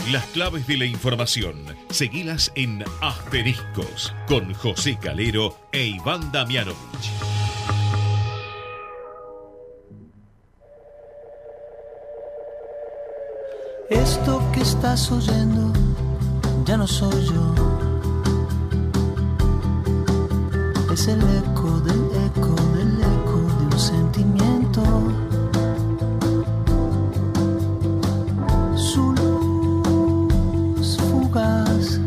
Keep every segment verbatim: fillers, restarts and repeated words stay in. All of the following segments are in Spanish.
Las claves de la información, seguilas en Asteriscos, con José Calero e Iván Damianovich. Esto que estás oyendo ya no soy yo. Es el eco del eco del eco de un sentimiento. Su luz fugaz,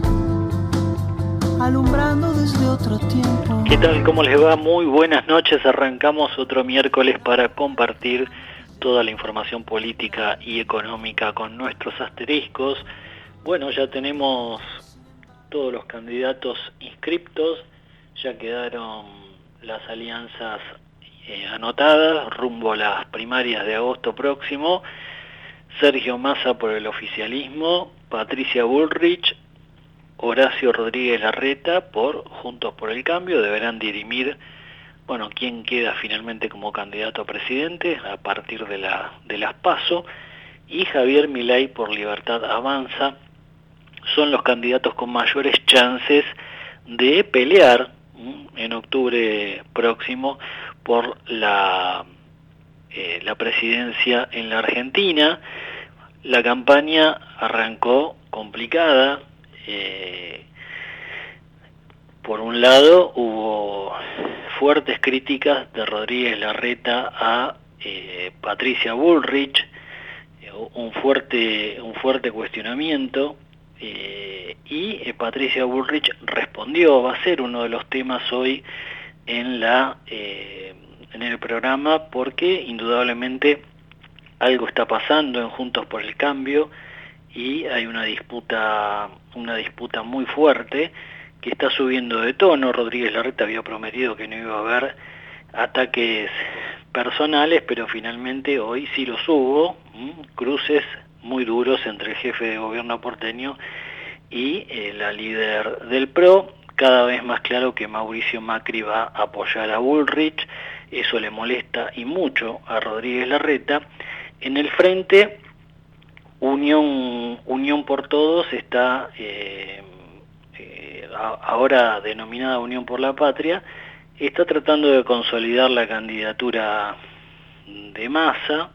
alumbrando desde otro tiempo. ¿Qué tal? ¿Cómo les va? Muy buenas noches. Arrancamos otro miércoles para compartir toda la información política y económica con nuestros asteriscos. Bueno, ya tenemos todos los candidatos inscriptos, ya quedaron las alianzas eh, anotadas rumbo a las primarias de agosto próximo. Sergio Massa por el oficialismo, Patricia Bullrich, Horacio Rodríguez Larreta por Juntos por el Cambio. Deberán dirimir, bueno, quién queda finalmente como candidato a presidente a partir de, la, de las PASO, y Javier Milei por Libertad Avanza son los candidatos con mayores chances de pelear en octubre próximo por la, eh, la presidencia en la Argentina. La campaña arrancó complicada. Eh, por un lado hubo fuertes críticas de Rodríguez Larreta a eh, Patricia Bullrich, eh, un fuerte un fuerte cuestionamiento, eh, y eh, Patricia Bullrich respondió. Va a ser uno de los temas hoy en la eh, en el programa, porque indudablemente algo está pasando en Juntos por el Cambio y hay una disputa una disputa muy fuerte que está subiendo de tono. Rodríguez Larreta había prometido que no iba a haber ataques personales, pero finalmente hoy sí los hubo, ¿m? Cruces muy duros entre el jefe de gobierno porteño y eh, la líder del P R O. Cada vez más claro que Mauricio Macri va a apoyar a Bullrich. Eso le molesta y mucho a Rodríguez Larreta. En el frente, Unión, Unión por Todos está... Eh, ahora denominada Unión por la Patria, está tratando de consolidar la candidatura de Massa,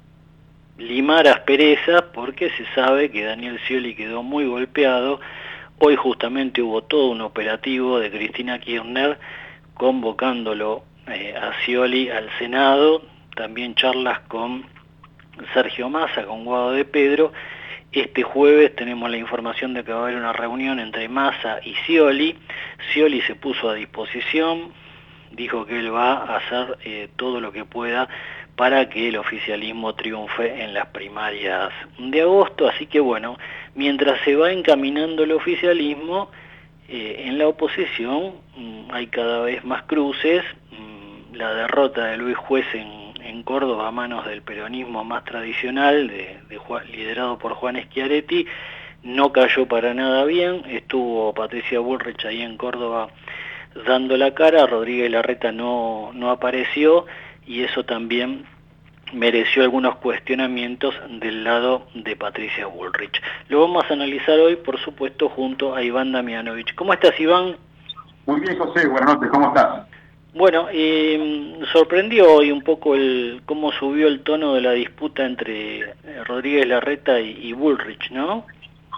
limar asperezas, porque se sabe que Daniel Scioli quedó muy golpeado. Hoy justamente hubo todo un operativo de Cristina Kirchner convocándolo eh, a Scioli al Senado, también charlas con Sergio Massa, con Guado de Pedro. Este jueves tenemos la información de que va a haber una reunión entre Massa y Scioli. Scioli se puso a disposición, dijo que él va a hacer eh, todo lo que pueda para que el oficialismo triunfe en las primarias de agosto. Así que bueno, mientras se va encaminando el oficialismo, eh, en la oposición mmm, hay cada vez más cruces. Mmm, la derrota de Luis Juez en en Córdoba a manos del peronismo más tradicional, de, de Juan, liderado por Juan Schiaretti, no cayó para nada bien. Estuvo Patricia Bullrich ahí en Córdoba dando la cara, Rodríguez Larreta no, no apareció, y eso también mereció algunos cuestionamientos del lado de Patricia Bullrich. Lo vamos a analizar hoy, por supuesto, junto a Iván Damianovich. ¿Cómo estás, Iván? Muy bien, José, buenas noches, ¿cómo estás? Bueno, eh, sorprendió hoy un poco el cómo subió el tono de la disputa entre Rodríguez Larreta y, y Bullrich, ¿no?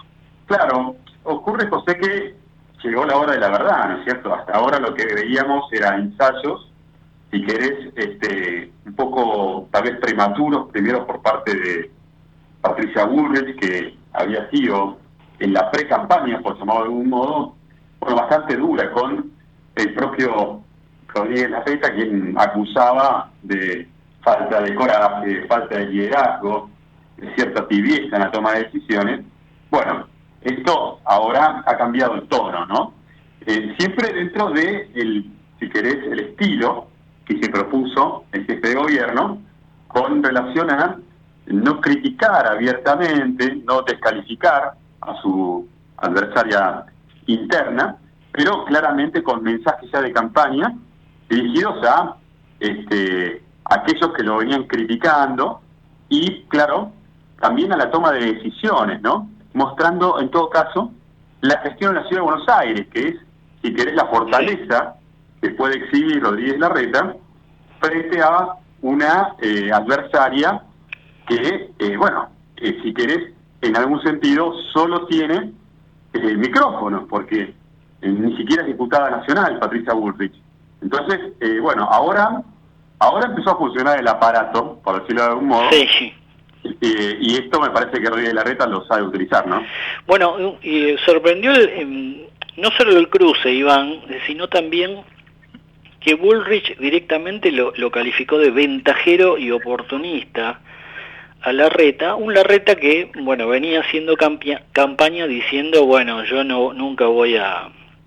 Claro, ocurre, José, que llegó la hora de la verdad, ¿no es cierto? Hasta ahora lo que veíamos eran ensayos, si querés, este, un poco tal vez prematuros, primero por parte de Patricia Bullrich, que había sido en la pre-campaña, por llamarlo de algún modo, bueno, bastante dura con el propio Rodríguez Larreta, quien acusaba de falta de coraje, falta de liderazgo, de cierta tibieza en la toma de decisiones. Bueno, esto ahora ha cambiado el tono, ¿no? Eh, siempre dentro de, el, si querés, el estilo que se propuso el jefe de gobierno con relación a no criticar abiertamente, no descalificar a su adversaria interna, pero claramente con mensajes ya de campaña dirigidos a este, aquellos que lo venían criticando y, claro, también a la toma de decisiones, ¿no? mostrando en todo caso la gestión de la Ciudad de Buenos Aires, que es, si querés, la fortaleza que puede exhibir Rodríguez Larreta frente a una eh, adversaria que, eh, bueno, eh, si querés, en algún sentido solo tiene eh, micrófonos, porque eh, ni siquiera es diputada nacional, Patricia Bullrich. Entonces, eh, bueno, ahora ahora empezó a funcionar el aparato, por decirlo de algún modo, sí. eh, y esto me parece que Rodríguez Larreta lo sabe utilizar, ¿no? Bueno, y sorprendió el, eh, no solo el cruce, Iván, sino también que Bullrich directamente lo, lo calificó de ventajero y oportunista a Larreta, un Larreta que, bueno, venía haciendo campia, campaña diciendo, bueno, yo no nunca voy a,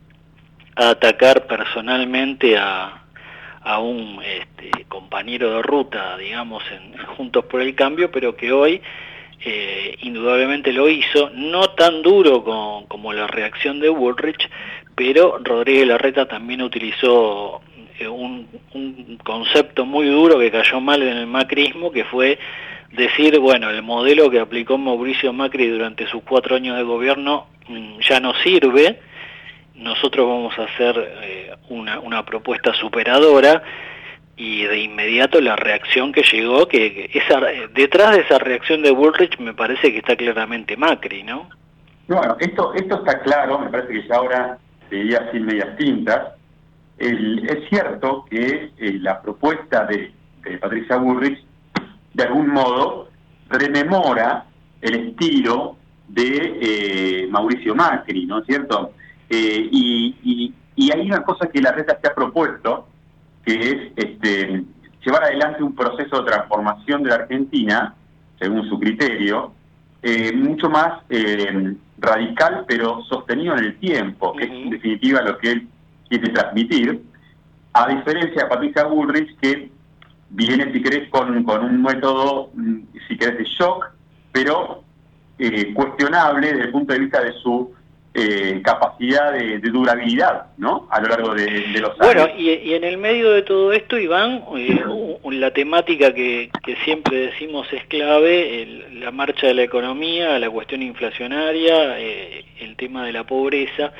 a atacar personalmente a, a un este, compañero de ruta, digamos, en, en Juntos por el Cambio, pero que hoy eh, indudablemente lo hizo, no tan duro con, como la reacción de Bullrich, pero Rodríguez Larreta también utilizó eh, un, un concepto muy duro que cayó mal en el macrismo, que fue decir, bueno, el modelo que aplicó Mauricio Macri durante sus cuatro años de gobierno mmm, ya no sirve, nosotros vamos a hacer eh, una, una propuesta superadora, y de inmediato la reacción que llegó, que, que esa, detrás de esa reacción de Bullrich me parece que está claramente Macri, ¿no? Bueno, esto esto está claro, me parece que ya ahora sería sin medias tintas. El, es cierto que eh, la propuesta de, de Patricia Bullrich de algún modo rememora el estilo de eh, Mauricio Macri, ¿no es cierto? Eh, y, y, y hay una cosa que Larreta se ha propuesto, que es este, llevar adelante un proceso de transformación de la Argentina, según su criterio, eh, mucho más eh, radical, pero sostenido en el tiempo, que es en definitiva lo que él quiere transmitir, a diferencia de Patricia Bullrich, que viene, si querés, con, con un método, si querés, de shock, pero eh, cuestionable desde el punto de vista de su eh, capacidad de, de durabilidad, ¿no?, a lo largo de, de los años. Bueno, y, y en el medio de todo esto, Iván, eh, la temática que, que siempre decimos es clave, el, la marcha de la economía, la cuestión inflacionaria, eh, el tema de la pobreza.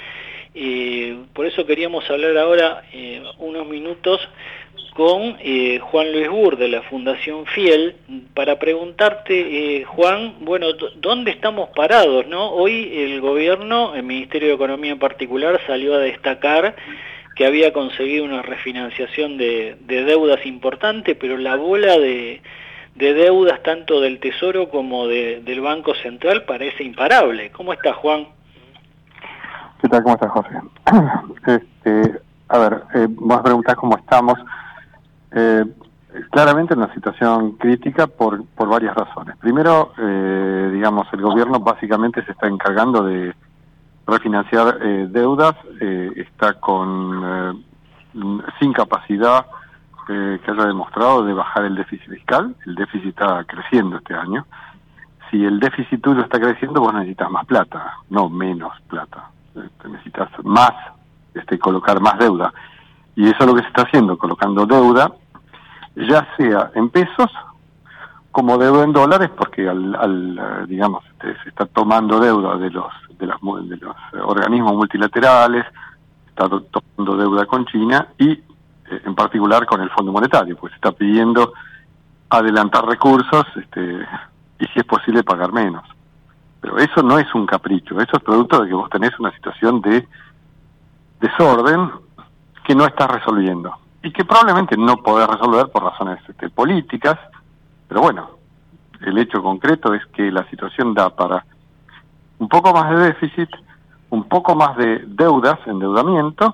Eh, por eso queríamos hablar ahora eh, unos minutos con eh, Juan Luis Burr de la Fundación Fiel para preguntarte, eh, Juan, bueno, ¿dónde estamos parados, no? Hoy el gobierno, el Ministerio de Economía en particular, salió a destacar que había conseguido una refinanciación de, de deudas importante, pero la bola de, de deudas tanto del Tesoro como de, del Banco Central parece imparable. ¿Cómo está, Juan? ¿Qué tal? ¿Cómo estás, José? Este, a ver, eh, vos me preguntás cómo estamos. Eh, claramente en una situación crítica por, por varias razones. Primero, eh, digamos, el gobierno básicamente se está encargando de refinanciar eh, deudas, eh, está con eh, sin capacidad eh, que haya demostrado de bajar el déficit fiscal. El déficit está creciendo este año. Si el déficit tuyo está creciendo, vos necesitas más plata, no menos plata. Este, necesitas más, este, colocar más deuda. Y eso es lo que se está haciendo, colocando deuda, ya sea en pesos como deuda en dólares, porque al, al digamos, este, se está tomando deuda de los de, las, de los organismos multilaterales, está tomando deuda con China y eh, en particular con el Fondo Monetario, pues se está pidiendo adelantar recursos este, y si es posible pagar menos. Pero eso no es un capricho, eso es producto de que vos tenés una situación de desorden que no estás resolviendo y que probablemente no podés resolver por razones este, políticas, pero bueno, el hecho concreto es que la situación da para un poco más de déficit, un poco más de deudas, endeudamiento,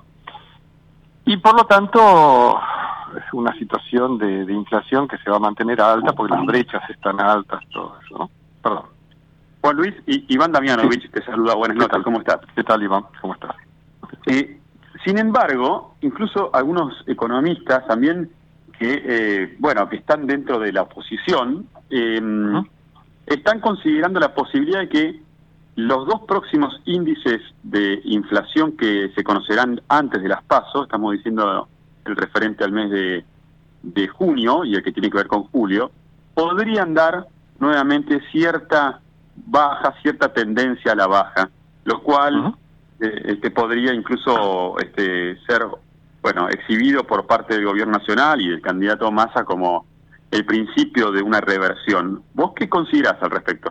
y por lo tanto es una situación de, de inflación que se va a mantener alta porque las brechas están altas, todo eso, ¿no? Perdón. Juan Luis, y Iván Damianovich sí. Te saluda, buenas noches, ¿cómo estás? ¿Qué tal, Iván? ¿Cómo estás? Eh, sin embargo, incluso algunos economistas también que, eh, bueno, que están dentro de la oposición, eh, uh-huh. están considerando la posibilidad de que los dos próximos índices de inflación que se conocerán antes de las PASO, estamos diciendo el referente al mes de, de junio y el que tiene que ver con julio, podrían dar nuevamente cierta baja, cierta tendencia a la baja, lo cual Uh-huh. eh, este, podría incluso este, ser, bueno, exhibido por parte del gobierno nacional y del candidato Massa como el principio de una reversión. ¿Vos qué considerás al respecto?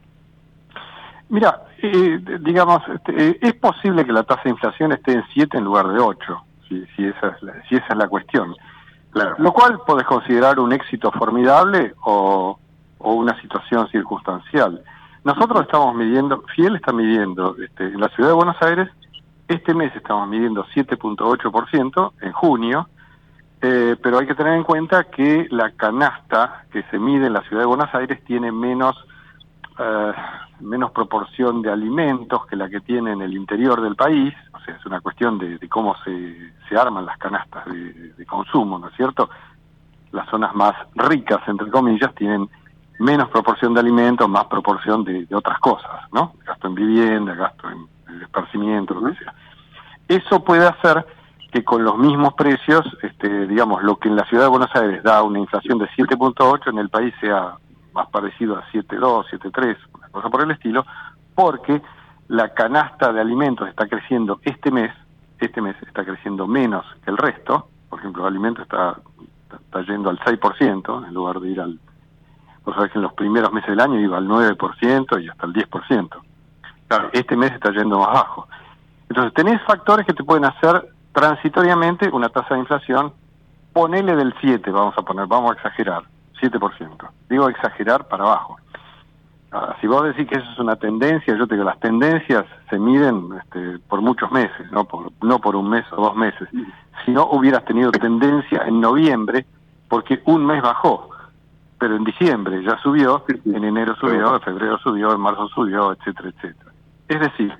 Mira, eh, digamos, este, eh, es posible que la tasa de inflación esté en siete en lugar de ocho, si, si, esa es la, si esa es la cuestión. Claro. Lo cual podés considerar un éxito formidable o, o una situación circunstancial. Nosotros estamos midiendo, Fiel está midiendo, este, en la ciudad de Buenos Aires, este mes estamos midiendo siete punto ocho por ciento en junio, eh, pero hay que tener en cuenta que la canasta que se mide en la ciudad de Buenos Aires tiene menos... Uh, menos proporción de alimentos que la que tiene en el interior del país, o sea, es una cuestión de, de cómo se, se arman las canastas de, de consumo, ¿no es cierto? Las zonas más ricas, entre comillas, tienen menos proporción de alimentos, más proporción de, de otras cosas, ¿no? Gasto en vivienda, gasto en, en esparcimiento, lo que sea. Eso puede hacer que con los mismos precios, este, digamos, lo que en la ciudad de Buenos Aires da una inflación de siete punto ocho, en el país sea más parecido a siete punto dos, siete punto tres, una cosa por el estilo, porque la canasta de alimentos está creciendo este mes, este mes está creciendo menos que el resto. Por ejemplo, el alimento está, está yendo al seis por ciento, en lugar de ir al... Vos sabés que en los primeros meses del año iba al nueve por ciento y hasta el diez por ciento. Claro, este mes está yendo más bajo. Entonces, tenés factores que te pueden hacer transitoriamente una tasa de inflación, ponele del siete, vamos a poner, vamos a exagerar, siete por ciento. Digo exagerar para abajo. Ahora, si vos decís que eso es una tendencia, yo te digo, las tendencias se miden este, por muchos meses, no por, no por un mes o dos meses. Si no hubieras tenido tendencia en noviembre, porque un mes bajó, pero en diciembre ya subió, en enero subió, en febrero subió, en marzo subió, etcétera, etcétera. Es decir,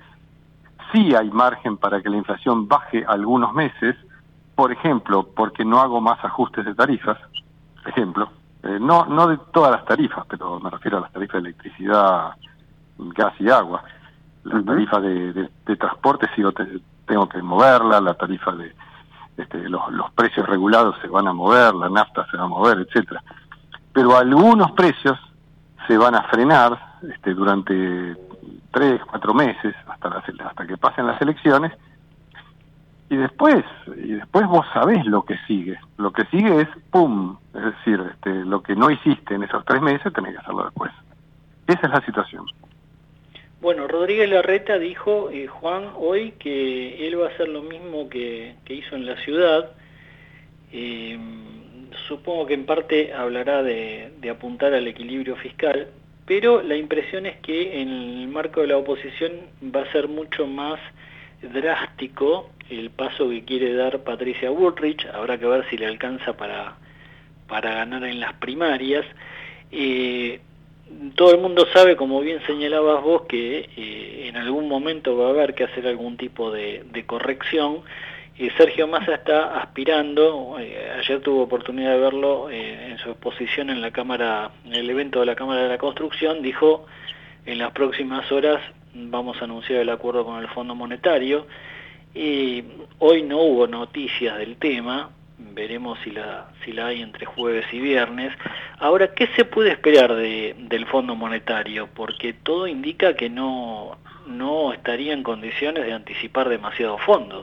sí hay margen para que la inflación baje algunos meses, por ejemplo, porque no hago más ajustes de tarifas, ejemplo, eh, no no de todas las tarifas, pero me refiero a las tarifas de electricidad, gas y agua. La uh-huh. tarifa de, de, de transporte sigo te, tengo que moverla, la tarifa de este, los, los precios regulados se van a mover, la nafta se va a mover, etcétera. Pero algunos precios se van a frenar este, durante tres, cuatro meses, hasta las, hasta que pasen las elecciones, y después, y después vos sabés lo que sigue. Lo que sigue es pum, es decir, este, lo que no hiciste en esos tres meses tenés que hacerlo después. Esa es la situación. Bueno, Rodríguez Larreta dijo, eh, Juan, hoy que él va a hacer lo mismo que, que hizo en la ciudad. Eh, supongo que en parte hablará de, de apuntar al equilibrio fiscal, pero la impresión es que en el marco de la oposición va a ser mucho más drástico el paso que quiere dar Patricia Bullrich. Habrá que ver si le alcanza para, para ganar en las primarias. Eh, todo el mundo sabe, como bien señalabas vos, que eh, en algún momento va a haber que hacer algún tipo de, de corrección. Eh, Sergio Massa está aspirando, eh, ayer tuve oportunidad de verlo eh, en su exposición en la Cámara, en el evento de la Cámara de la Construcción, dijo, en las próximas horas vamos a anunciar el acuerdo con el Fondo Monetario. Y hoy no hubo noticias del tema, veremos si la si la hay entre jueves y viernes. Ahora, ¿qué se puede esperar de, del Fondo Monetario? Porque todo indica que no, no estaría en condiciones de anticipar demasiados fondos.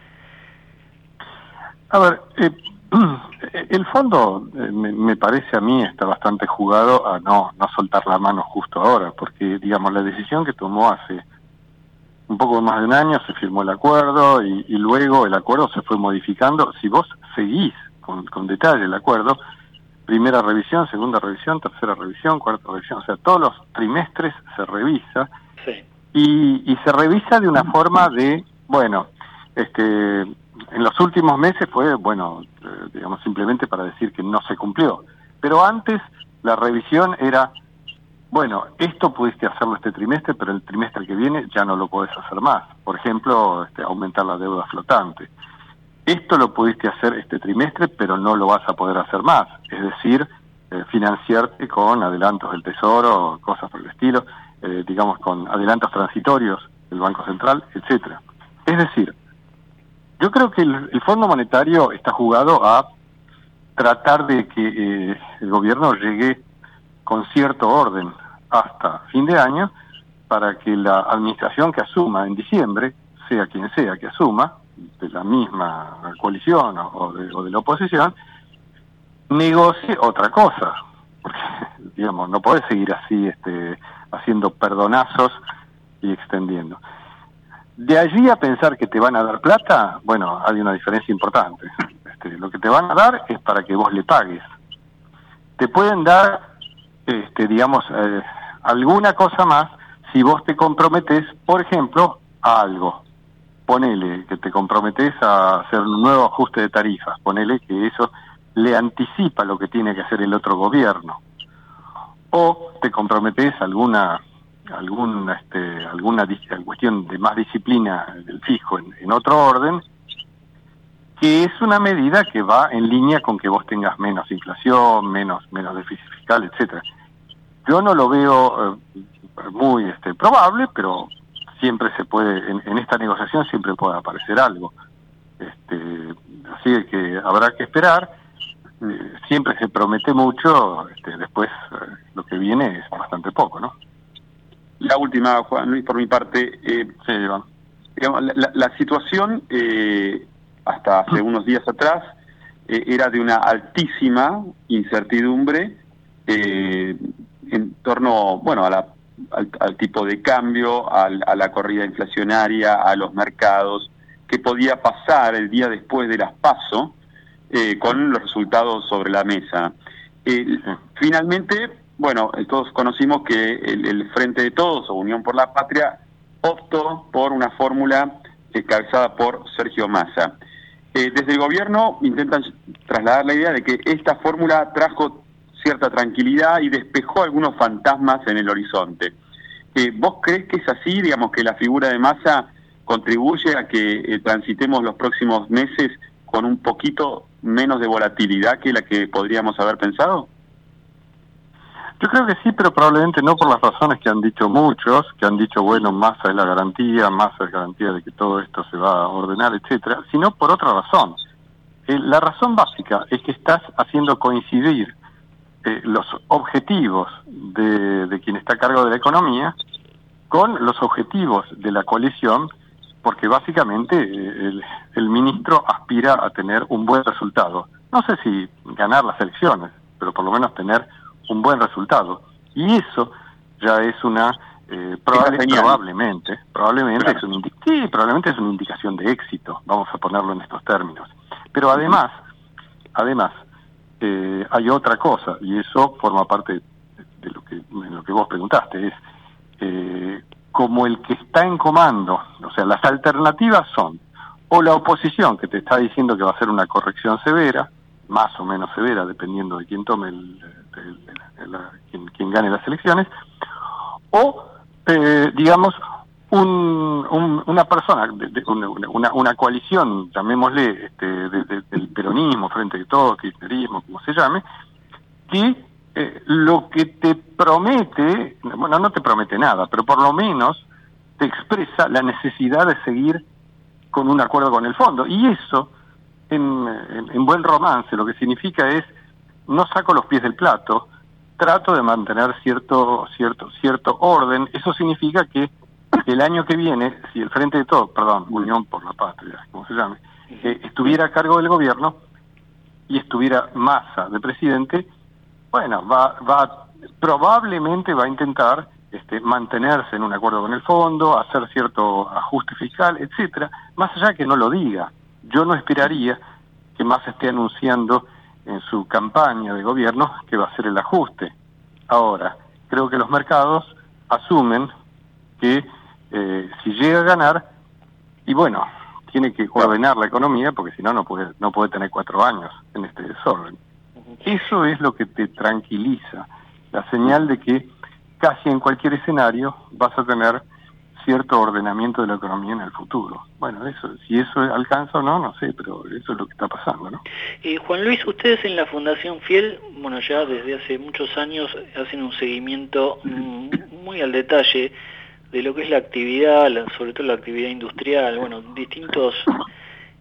A ver, eh, el fondo eh, me, me parece a mí está bastante jugado a no, no soltar la mano justo ahora, porque digamos la decisión que tomó hace un poco más de un año, se firmó el acuerdo y, y luego el acuerdo se fue modificando. Si vos seguís con, con detalle el acuerdo, primera revisión, segunda revisión, tercera revisión, cuarta revisión, o sea, todos los trimestres se revisa. Sí. y, y se revisa de una forma de, bueno, este, en los últimos meses fue, bueno, eh, digamos simplemente para decir que no se cumplió, pero antes la revisión era, bueno, esto pudiste hacerlo este trimestre, pero el trimestre que viene ya no lo podés hacer más. Por ejemplo, este, aumentar la deuda flotante. Esto lo pudiste hacer este trimestre, pero no lo vas a poder hacer más. Es decir, eh, financiarte con adelantos del Tesoro, cosas por el estilo, eh, digamos con adelantos transitorios del Banco Central, etcétera. Es decir, yo creo que el, el Fondo Monetario está jugado a tratar de que eh, el gobierno llegue con cierto orden hasta fin de año para que la administración que asuma en diciembre, sea quien sea que asuma, de la misma coalición o, o, de, o de la oposición, negocie otra cosa. Porque, digamos, no podés seguir así este, haciendo perdonazos y extendiendo. De allí a pensar que te van a dar plata, bueno, hay una diferencia importante. Este, lo que te van a dar es para que vos le pagues. Te pueden dar, este, digamos, eh, alguna cosa más si vos te comprometés, por ejemplo, a algo. Ponele que te comprometés a hacer un nuevo ajuste de tarifas. Ponele que eso le anticipa lo que tiene que hacer el otro gobierno. O te comprometés a alguna alguna este, alguna cuestión de más disciplina del fisco en, en otro orden, que es una medida que va en línea con que vos tengas menos inflación, menos menos déficit fiscal, etcétera. Yo no lo veo eh, muy este, probable, pero siempre se puede, en, en esta negociación siempre puede aparecer algo. Este, así que habrá que esperar. Eh, siempre se promete mucho, este, después eh, lo que viene es bastante poco, ¿no? La última, Juan Luis, por mi parte. Eh, sí, Iván. Digamos, la, la situación eh, hasta hace unos días atrás eh, era de una altísima incertidumbre eh, en torno, bueno, a la, al, al tipo de cambio, al, a la corrida inflacionaria, a los mercados, qué podía pasar el día después de las PASO eh, con los resultados sobre la mesa. Eh, finalmente, bueno, todos conocimos que el, el Frente de Todos, o Unión por la Patria, optó por una fórmula encabezada por Sergio Massa. Eh, desde el gobierno intentan trasladar la idea de que esta fórmula trajo cierta tranquilidad y despejó algunos fantasmas en el horizonte. Eh, ¿Vos crees que es así, digamos, que la figura de Massa contribuye a que eh, transitemos los próximos meses con un poquito menos de volatilidad que la que podríamos haber pensado? Yo creo que sí, pero probablemente no por las razones que han dicho muchos, que han dicho, bueno, Massa es la garantía, Massa es garantía de que todo esto se va a ordenar, etcétera, sino por otra razón. Eh, la razón básica es que estás haciendo coincidir eh, los objetivos de, de quien está a cargo de la economía con los objetivos de la coalición, porque básicamente eh, el, el ministro aspira a tener un buen resultado. No sé si ganar las elecciones, pero por lo menos tener un buen resultado, y eso ya es una eh, probable, probablemente probablemente claro. es un sí, probablemente es una indicación de éxito, vamos a ponerlo en estos términos. Pero además además eh, hay otra cosa, y eso forma parte de lo que de lo que vos preguntaste, es eh, como el que está en comando, o sea, las alternativas son o la oposición, que te está diciendo que va a hacer una corrección severa, más o menos severa, dependiendo de quién tome el, el, el, el quien, quien gane las elecciones, o eh, digamos un, un, una persona, de, de, una, una, una coalición, llamémosle este, de, de, del peronismo, Frente de Todos, kirchnerismo, como se llame, que eh, lo que te promete, bueno, no te promete nada, pero por lo menos te expresa la necesidad de seguir con un acuerdo con el fondo, y eso En, en, en buen romance lo que significa es no saco los pies del plato, trato de mantener cierto cierto cierto orden. Eso significa que el año que viene, si el Frente de Todos, perdón, Unión por la Patria, como se llame, eh, estuviera a cargo del gobierno y estuviera Massa de presidente, bueno, va va probablemente va a intentar este, mantenerse en un acuerdo con el fondo, hacer cierto ajuste fiscal, etcétera, más allá que no lo diga. Yo no esperaría que Massa esté anunciando en su campaña de gobierno que va a ser el ajuste. Ahora, creo que los mercados asumen que eh, si llega a ganar, y bueno, tiene que ordenar la economía, porque si no, no puede, no puede tener cuatro años en este desorden. Eso es lo que te tranquiliza, la señal de que casi en cualquier escenario vas a tener cierto ordenamiento de la economía en el futuro. Bueno, eso, si eso alcanza o no, no sé, pero eso es lo que está pasando, ¿no? Eh, Juan Luis, ustedes en la Fundación Fiel, bueno, ya desde hace muchos años hacen un seguimiento mmm, muy al detalle de lo que es la actividad, la, sobre todo la actividad industrial, bueno, distintos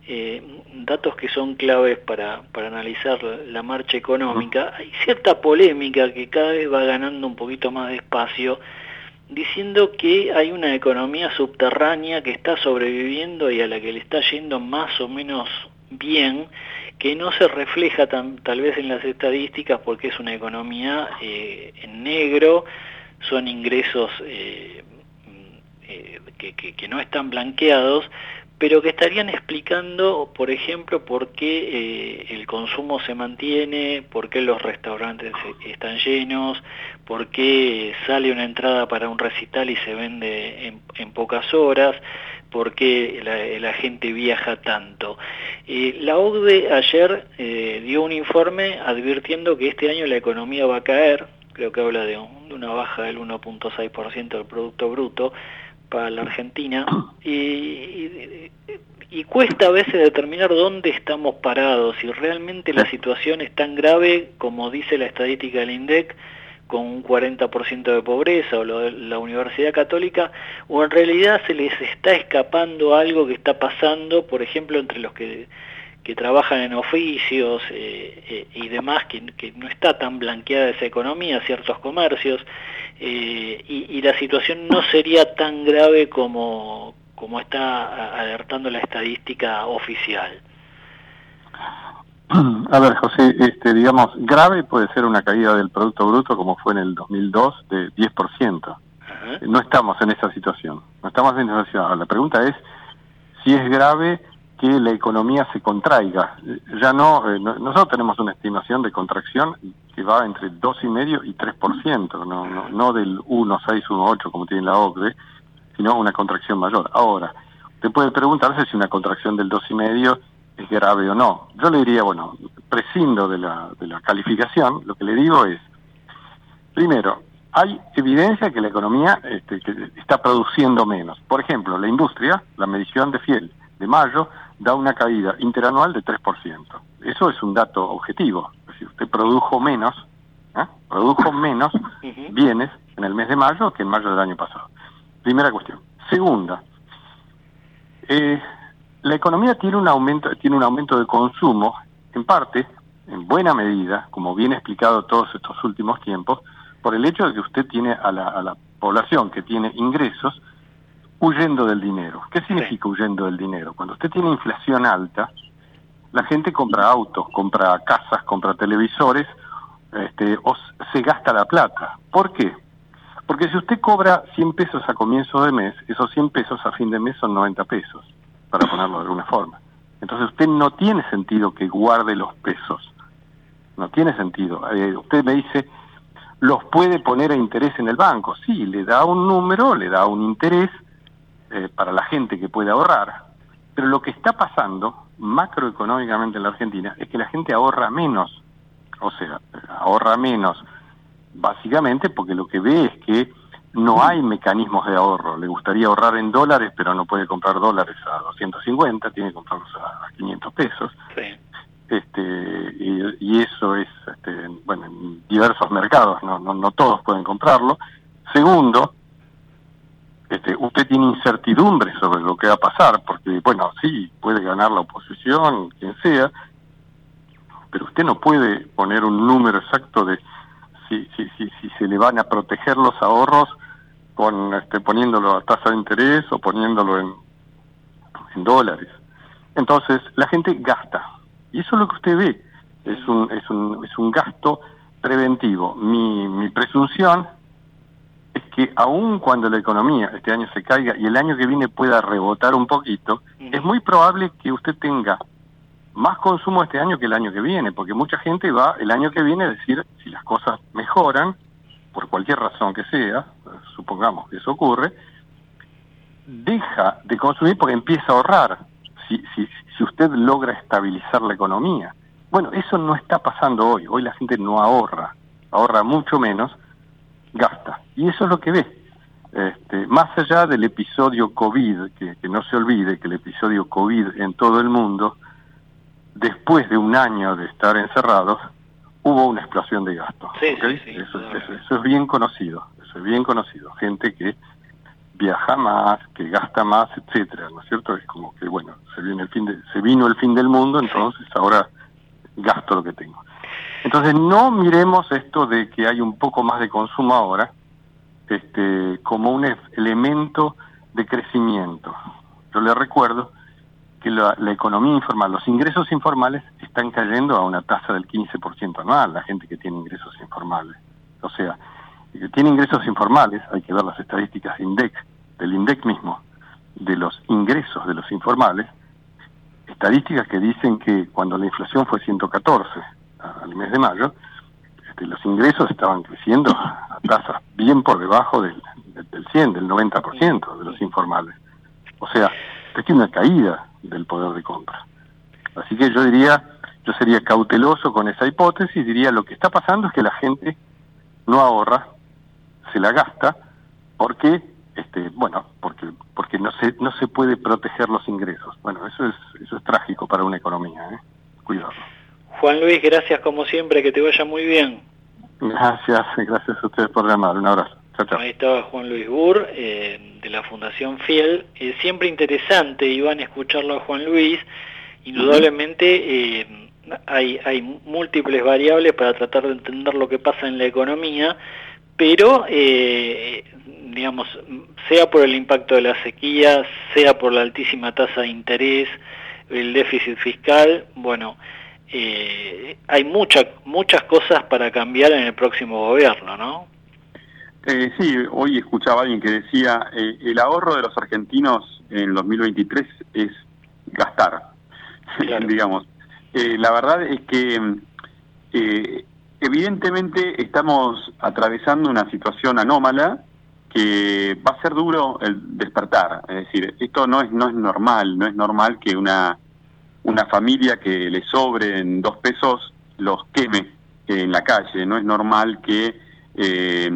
eh, datos que son claves para, para analizar la, la marcha económica. Hay cierta polémica que cada vez va ganando un poquito más de espacio, diciendo que hay una economía subterránea que está sobreviviendo y a la que le está yendo más o menos bien, que no se refleja tan, tal vez en las estadísticas porque es una economía eh, en negro, son ingresos eh, eh, que, que, que no están blanqueados, pero que estarían explicando, por ejemplo, por qué eh, el consumo se mantiene, por qué los restaurantes están llenos, por qué sale una entrada para un recital y se vende en, en pocas horas, por qué la, la gente viaja tanto. Eh, la O C D E ayer eh, dio un informe advirtiendo que este año la economía va a caer, creo que habla de, un, de una baja del uno punto seis por ciento del Producto Bruto para la Argentina, y, y, y cuesta a veces determinar dónde estamos parados, si realmente la situación es tan grave como dice la estadística del INDEC, con un cuarenta por ciento de pobreza, o lo de la Universidad Católica, o en realidad se les está escapando algo que está pasando, por ejemplo, entre los que, que trabajan en oficios eh, eh, y demás, que, que no está tan blanqueada esa economía, ciertos comercios, eh, y, y la situación no sería tan grave como, como está alertando la estadística oficial. A ver, José, este, digamos, grave puede ser una caída del Producto Bruto como fue en el dos mil dos de diez por ciento. Ajá. No estamos en esa situación. No estamos en esa situación. La pregunta es si es grave que la economía se contraiga. Ya no, eh, no nosotros tenemos una estimación de contracción que va entre dos coma cinco y tres por ciento, no, no, no del uno coma seis, uno coma ocho como tiene la O C D E, sino una contracción mayor. Ahora, usted puede preguntarse si una contracción del dos coma cinco es grave o no. Yo le diría, bueno, prescindo de la, de la calificación, lo que le digo es, primero, hay evidencia que la economía este, que está produciendo menos. Por ejemplo, la industria, la medición de Fiel de mayo, da una caída interanual de tres por ciento. Eso es un dato objetivo. Es decir, usted produjo menos, ¿eh? produjo menos bienes en el mes de mayo que en mayo del año pasado. Primera cuestión. Segunda, eh, la economía tiene un aumento, tiene un aumento de consumo, en parte, en buena medida, como bien explicado todos estos últimos tiempos, por el hecho de que usted tiene a la, a la población que tiene ingresos huyendo del dinero. ¿Qué significa huyendo del dinero? Cuando usted tiene inflación alta, la gente compra autos, compra casas, compra televisores, este, o se gasta la plata. ¿Por qué? Porque si usted cobra cien pesos a comienzo de mes, esos cien pesos a fin de mes son noventa pesos. Para ponerlo de alguna forma. Entonces usted no tiene sentido que guarde los pesos. No tiene sentido. Eh, usted me dice, ¿los puede poner a interés en el banco? Sí, le da un número, le da un interés eh, para la gente que puede ahorrar. Pero lo que está pasando macroeconómicamente en la Argentina es que la gente ahorra menos. O sea, ahorra menos básicamente porque lo que ve es que no hay mecanismos de ahorro. Le gustaría ahorrar en dólares, pero no puede comprar dólares a doscientos cincuenta, tiene que comprarlos a quinientos pesos. Sí. Este, y, y eso es, este, bueno, en diversos mercados, no, no, no todos pueden comprarlo. Segundo, este, usted tiene incertidumbre sobre lo que va a pasar, porque, bueno, sí, puede ganar la oposición, quien sea, pero usted no puede poner un número exacto de si, si, si, si se le van a proteger los ahorros con este, poniéndolo a tasa de interés o poniéndolo en, en dólares. Entonces la gente gasta y eso es lo que usted ve, es un es un es un gasto preventivo. Mi mi presunción es que aun cuando la economía este año se caiga y el año que viene pueda rebotar un poquito, es muy probable que usted tenga más consumo este año que el año que viene, porque mucha gente va el año que viene a decir, si las cosas mejoran por cualquier razón que sea, supongamos que eso ocurre, deja de consumir porque empieza a ahorrar, si, si, si usted logra estabilizar la economía. Bueno, eso no está pasando hoy, hoy la gente no ahorra, ahorra mucho menos, gasta, y eso es lo que ve. Este, más allá del episodio COVID, que, que no se olvide que el episodio COVID en todo el mundo, después de un año de estar encerrados, hubo una explosión de gastos. Sí, ¿okay? sí, sí, eso, eso, eso es bien conocido, eso es bien conocido. Gente que viaja más, que gasta más, etcétera, ¿no es cierto? Es como que, bueno, se viene el fin de, se vino el fin del mundo, entonces ahora gasto lo que tengo. Entonces no miremos esto de que hay un poco más de consumo ahora este como un elemento de crecimiento. Yo le recuerdo que la, la economía informal, los ingresos informales están cayendo a una tasa del quince por ciento anual, la gente que tiene ingresos informales. O sea, el que tiene ingresos informales, hay que ver las estadísticas de INDEC, del INDEC mismo, de los ingresos de los informales, estadísticas que dicen que cuando la inflación fue ciento catorce al mes de mayo, este, los ingresos estaban creciendo a tasas bien por debajo del, del cien, del noventa por ciento de los informales. O sea, es que una caída del poder de compra. Así que yo diría, yo sería cauteloso con esa hipótesis, diría lo que está pasando es que la gente no ahorra, se la gasta, porque, este, bueno, porque porque no se no se puede proteger los ingresos. Bueno, eso es eso es trágico para una economía, ¿eh? Cuidado. Juan Luis, gracias como siempre, que te vaya muy bien. Gracias, gracias a ustedes por llamar, un abrazo. Chao, chao. Ahí estaba Juan Luis Burr, eh, de la Fundación Fiel. Eh, siempre interesante, Iván, escucharlo a Juan Luis. Indudablemente eh, hay, hay múltiples variables para tratar de entender lo que pasa en la economía, pero, eh, digamos, sea por el impacto de la sequía, sea por la altísima tasa de interés, el déficit fiscal, bueno, eh, hay muchas muchas cosas para cambiar en el próximo gobierno, ¿no? Eh, sí, hoy escuchaba a alguien que decía, eh, el ahorro de los argentinos en dos mil veintitrés es gastar, claro. Digamos. Eh, la verdad es que eh, evidentemente estamos atravesando una situación anómala que va a ser duro el despertar. Es decir, esto no es no es normal, no es normal que una una familia que le sobren dos pesos los queme en la calle, no es normal que eh,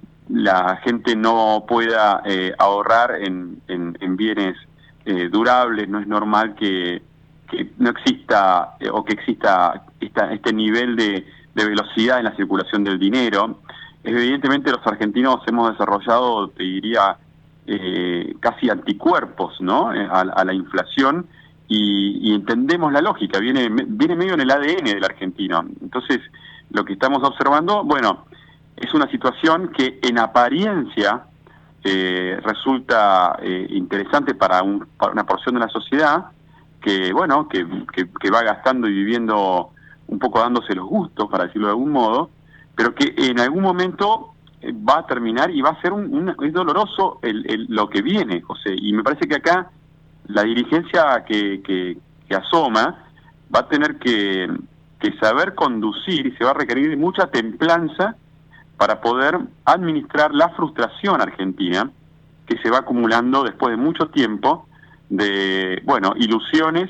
la gente no pueda eh, ahorrar en, en, en bienes eh, durables, no es normal que, que no exista eh, o que exista esta, este nivel de, de velocidad en la circulación del dinero. Evidentemente los argentinos hemos desarrollado, te diría, eh, casi anticuerpos, ¿no? a, a la inflación y, y entendemos la lógica, viene, viene medio en el A D N del argentino. Entonces, lo que estamos observando, bueno, es una situación que en apariencia eh, resulta eh, interesante para, un, para una porción de la sociedad que, bueno, que, que, que va gastando y viviendo un poco dándose los gustos, para decirlo de algún modo, pero que en algún momento eh, va a terminar y va a ser un, un es doloroso el, el, lo que viene, José. Y me parece que acá la dirigencia que, que, que asoma va a tener que, que saber conducir y se va a requerir mucha templanza para poder administrar la frustración argentina que se va acumulando después de mucho tiempo de, bueno, ilusiones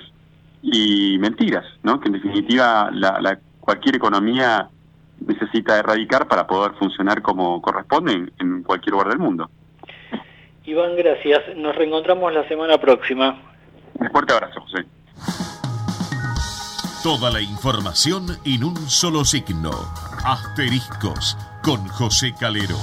y mentiras, ¿no? Que en definitiva la, la cualquier economía necesita erradicar para poder funcionar como corresponde en, en cualquier lugar del mundo. Iván, gracias. Nos reencontramos la semana próxima. Un fuerte abrazo, José. Toda la información en un solo signo. Asteriscos con José Calero.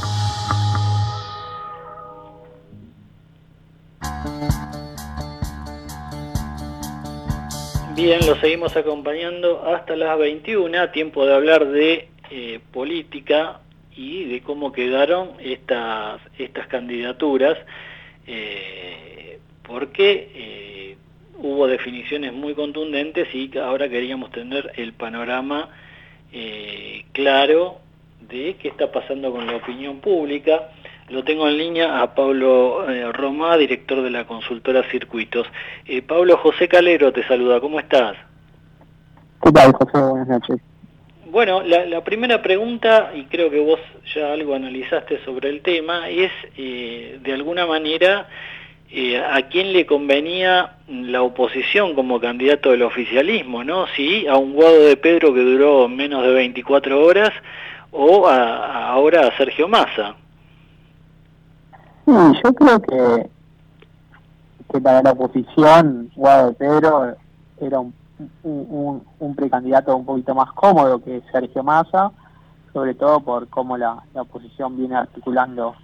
Bien, lo seguimos acompañando hasta las veintiuna, tiempo de hablar de eh, política y de cómo quedaron estas estas candidaturas, eh, porque eh, hubo definiciones muy contundentes y ahora queríamos tener el panorama eh, claro de qué está pasando con la opinión pública. Lo tengo en línea a Pablo eh, Romá, director de la consultora Circuitos. Eh, Pablo, José Calero te saluda, ¿cómo estás? ¿Qué tal, José? Buenas noches. Bueno, la, la primera pregunta, y creo que vos ya algo analizaste sobre el tema, es eh, de alguna manera eh, a quién le convenía la oposición como candidato del oficialismo, ¿no? Si a un Guado de Pedro que duró menos de veinticuatro horas o a, a ahora a Sergio Massa. Sí, yo creo que, que para la oposición Guado de Pedro era un Un, un, un precandidato un poquito más cómodo que Sergio Massa, sobre todo por cómo la, la oposición viene articulando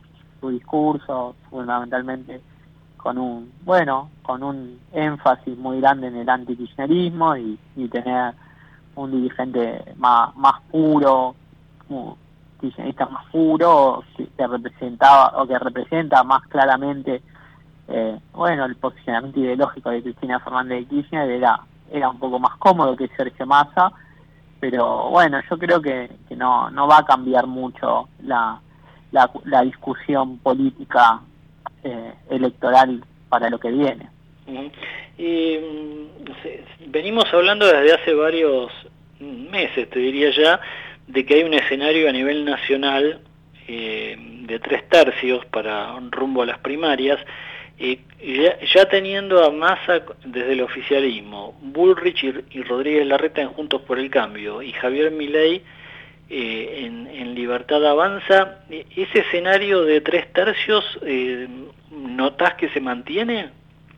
su discurso, fundamentalmente con un, bueno, con un énfasis muy grande en el antikirchnerismo y, y tener un dirigente más, más puro, un kirchnerista más puro, que, que representaba o que representa más claramente eh, bueno, el posicionamiento ideológico de Cristina Fernández de Kirchner era, era un poco más cómodo que Sergio Massa, pero bueno, yo creo que, que no, no va a cambiar mucho la, la, la discusión política eh, electoral para lo que viene. Uh-huh. Y, venimos hablando desde hace varios meses, te diría ya, de que hay un escenario a nivel nacional eh, de tres tercios para rumbo a las primarias, eh, ya, ya teniendo a Massa desde el oficialismo, Bullrich y, y Rodríguez Larreta en Juntos por el Cambio y Javier Milei eh, en, en Libertad Avanza. ¿Ese escenario de tres tercios eh, notás que se mantiene?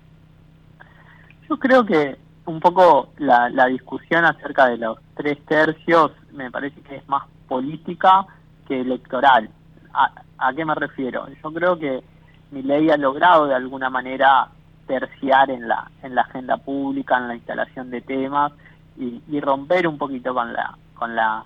Yo creo que un poco la, la discusión acerca de los tres tercios me parece que es más política que electoral. ¿A, a qué me refiero? Yo creo que Milei ha logrado de alguna manera terciar en la en la agenda pública, en la instalación de temas y, y romper un poquito con la con la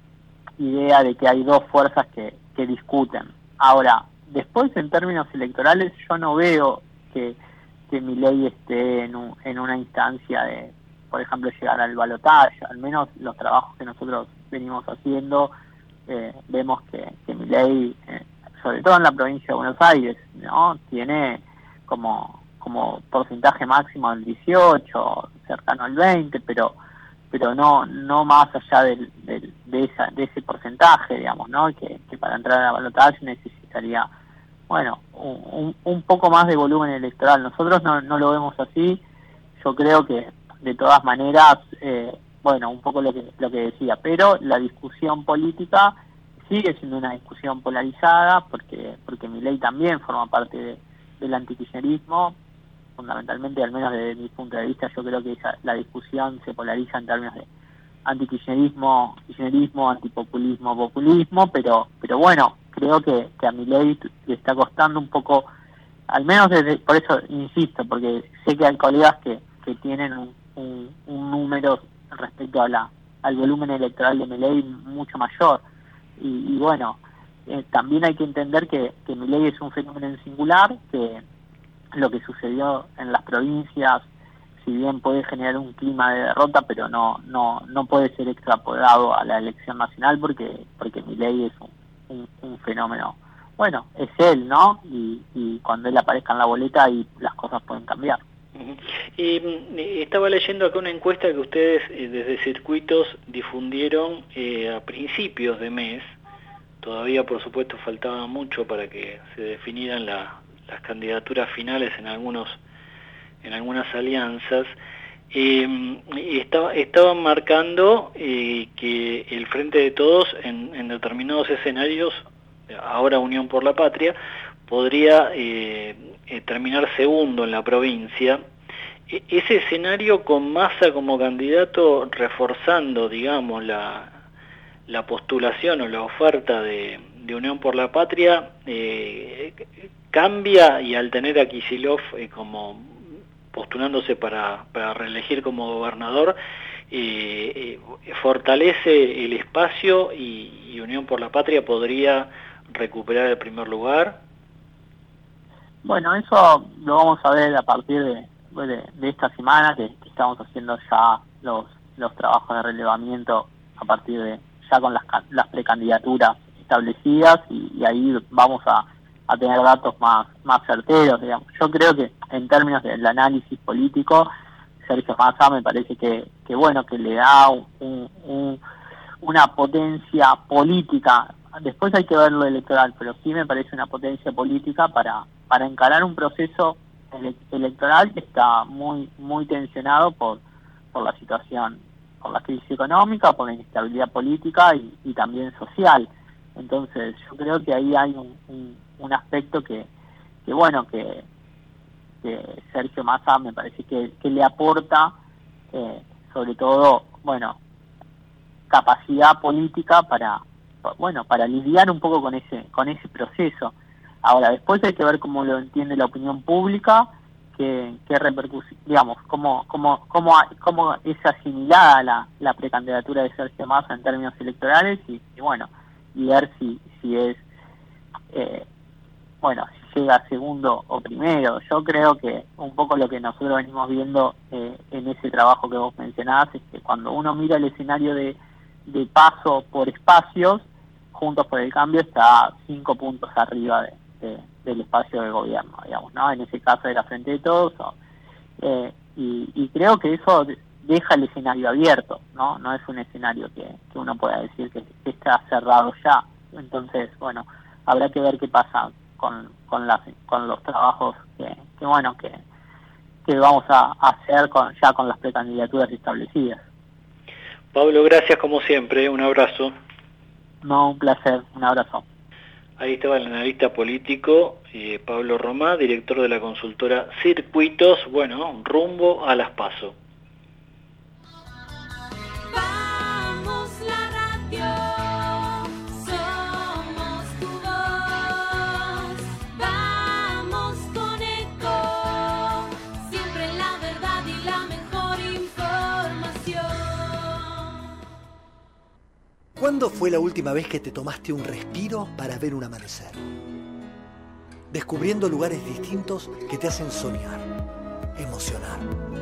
idea de que hay dos fuerzas que, que discuten. Ahora, después en términos electorales yo no veo que que Milei esté en, un, en una instancia de, por ejemplo, llegar al balotaje. Al menos los trabajos que nosotros venimos haciendo, eh, vemos que, que Milei, eh, sobre todo en la provincia de Buenos Aires, ¿no?, tiene como como porcentaje máximo del dieciocho, cercano al veinte, pero pero no no más allá del, del, de esa de ese porcentaje, digamos, ¿no?, que, que para entrar al balotaje necesitaría, bueno, un, un poco más de volumen electoral. Nosotros no, no lo vemos así. Yo creo que de todas maneras, eh, bueno, un poco lo que lo que decía, pero la discusión política sigue siendo una discusión polarizada, porque porque Milei también forma parte de, del antikirchnerismo, fundamentalmente, al menos desde mi punto de vista. Yo creo que esa, la discusión se polariza en términos de antikirchnerismo, kirchnerismo, antipopulismo, populismo, pero pero bueno, creo que, que a Milei le está costando un poco, al menos desde, por eso insisto, porque sé que hay colegas que, que tienen un, un, un número respecto a la, al volumen electoral de Milei mucho mayor. Y, y bueno, eh, también hay que entender que, que Milei es un fenómeno en singular, que lo que sucedió en las provincias, si bien puede generar un clima de derrota, pero no no no puede ser extrapolado a la elección nacional, porque porque Milei es un, un, un fenómeno, bueno, es él, ¿no? Y, y cuando él aparezca en la boleta, y las cosas pueden cambiar. Uh-huh. Y estaba leyendo acá una encuesta que ustedes eh, desde Circuitos difundieron eh, a principios de mes. Todavía, por supuesto, faltaba mucho para que se definieran la, las candidaturas finales en algunos en algunas alianzas. Eh, estaba, estaban marcando eh, que el Frente de Todos en, en determinados escenarios, ahora Unión por la Patria, podría eh, eh, terminar segundo en la provincia. E- ese escenario con Massa como candidato, reforzando, digamos, la, la postulación o la oferta de, de Unión por la Patria, eh, cambia, y al tener a Kicillof eh, como postulándose para, para reelegir como gobernador, eh, eh, fortalece el espacio y, y Unión por la Patria podría recuperar el primer lugar. Bueno, eso lo vamos a ver a partir de, de, de esta semana, que, que estamos haciendo ya los los trabajos de relevamiento a partir de ya con las, las precandidaturas establecidas, y, y ahí vamos a, a tener datos más más certeros, digamos. Yo creo que en términos del análisis político, Sergio Massa me parece que, que bueno, que le da un, un, una potencia política. Después hay que ver lo electoral, pero sí me parece una potencia política para para encarar un proceso ele electoral que está muy muy tensionado por por la situación, por la crisis económica, por la inestabilidad política y, y también social. Entonces yo creo que ahí hay un, un, un aspecto que, que bueno, que, que Sergio Massa me parece que, que le aporta, eh, sobre todo, bueno, capacidad política para, bueno, para lidiar un poco con ese con ese proceso. Ahora, después hay que ver cómo lo entiende la opinión pública, qué, qué repercusión, digamos, cómo, cómo, cómo, cómo es asimilada la, la precandidatura de Sergio Massa en términos electorales y, y bueno, y ver si, si es, eh, bueno, si llega segundo o primero. Yo creo que un poco lo que nosotros venimos viendo eh, en ese trabajo que vos mencionabas es que cuando uno mira el escenario de, de paso por espacios, Juntos por el Cambio está cinco puntos arriba de, de, del espacio de gobierno, digamos, ¿no? En ese caso de la Frente de Todos, o, eh, y, y creo que eso deja el escenario abierto, ¿no? No es un escenario que, que uno pueda decir que, que está cerrado ya. Entonces, bueno, habrá que ver qué pasa con con, las, con los trabajos que, que bueno, que, que vamos a hacer con, ya con las precandidaturas establecidas. Pablo, gracias como siempre, un abrazo. No, un placer, un abrazo. Ahí estaba el analista político eh, Pablo Romá, director de la consultora Circuitos, bueno, rumbo a las PASO. Vamos la radio, somos tu voz, vamos con Eco, siempre la verdad y la mejor información. ¿Cuándo fue la última vez que te tomaste un respiro para ver un amanecer? Descubriendo lugares distintos que te hacen soñar, emocionar.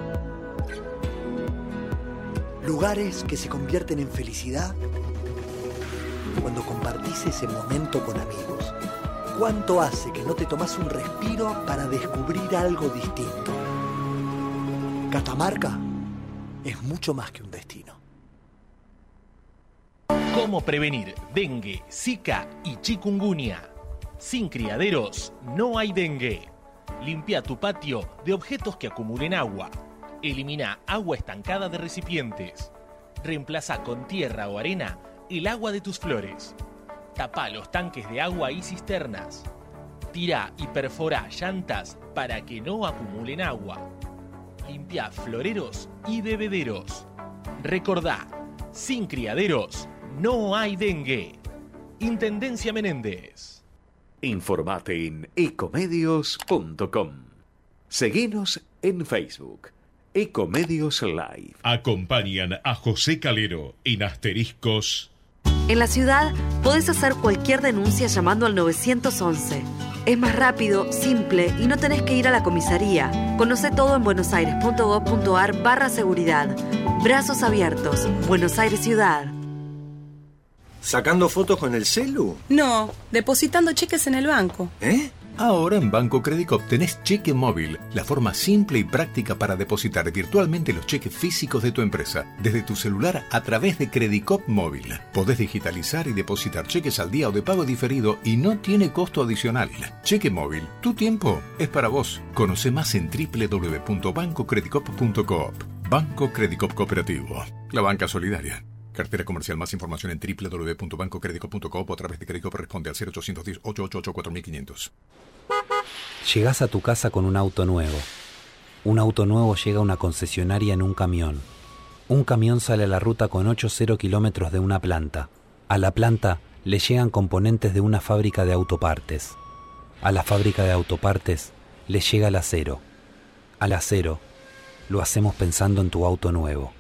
Lugares que se convierten en felicidad cuando compartís ese momento con amigos. ¿Cuánto hace que no te tomás un respiro para descubrir algo distinto? Catamarca es mucho más que un destino. ¿Cómo prevenir dengue, zika y chikungunya? Sin criaderos no hay dengue. Limpia tu patio de objetos que acumulen agua. Elimina agua estancada de recipientes. Reemplaza con tierra o arena el agua de tus flores. Tapa los tanques de agua y cisternas. Tira y perfora llantas para que no acumulen agua. Limpia floreros y bebederos. Recordá, sin criaderos no hay dengue. Intendencia Menéndez. Informate en ecomedios punto com. Seguinos en Facebook. Ecomedios Live. Acompañan a José Calero en Asteriscos. En la ciudad podés hacer cualquier denuncia llamando al nueve once. Es más rápido, simple y no tenés que ir a la comisaría. Conocé todo en buenosaires.gov.ar barra seguridad. Brazos abiertos. Buenos Aires Ciudad. ¿Sacando fotos con el celu? No, depositando cheques en el banco. ¿Eh? Ahora en Banco Credicop tenés cheque móvil, la forma simple y práctica para depositar virtualmente los cheques físicos de tu empresa, desde tu celular a través de Credicop Móvil. Podés digitalizar y depositar cheques al día o de pago diferido y no tiene costo adicional. Cheque móvil, tu tiempo es para vos. Conoce más en doble u doble u doble u punto banco credicop punto coop. Banco Credicop Cooperativo, la banca solidaria. Cartera comercial. Más información en doble u doble u doble u punto banco credicop punto coop o a través de Credicop. Responde al cero ochocientos diez, ochocientos ochenta y ocho, cuatro mil quinientos. Llegás a tu casa con un auto nuevo. Un auto nuevo llega a una concesionaria en un camión. Un camión sale a la ruta con ocho cero kilómetros de una planta. A la planta le llegan componentes de una fábrica de autopartes. A la fábrica de autopartes le llega el acero. Al acero lo hacemos pensando en tu auto nuevo.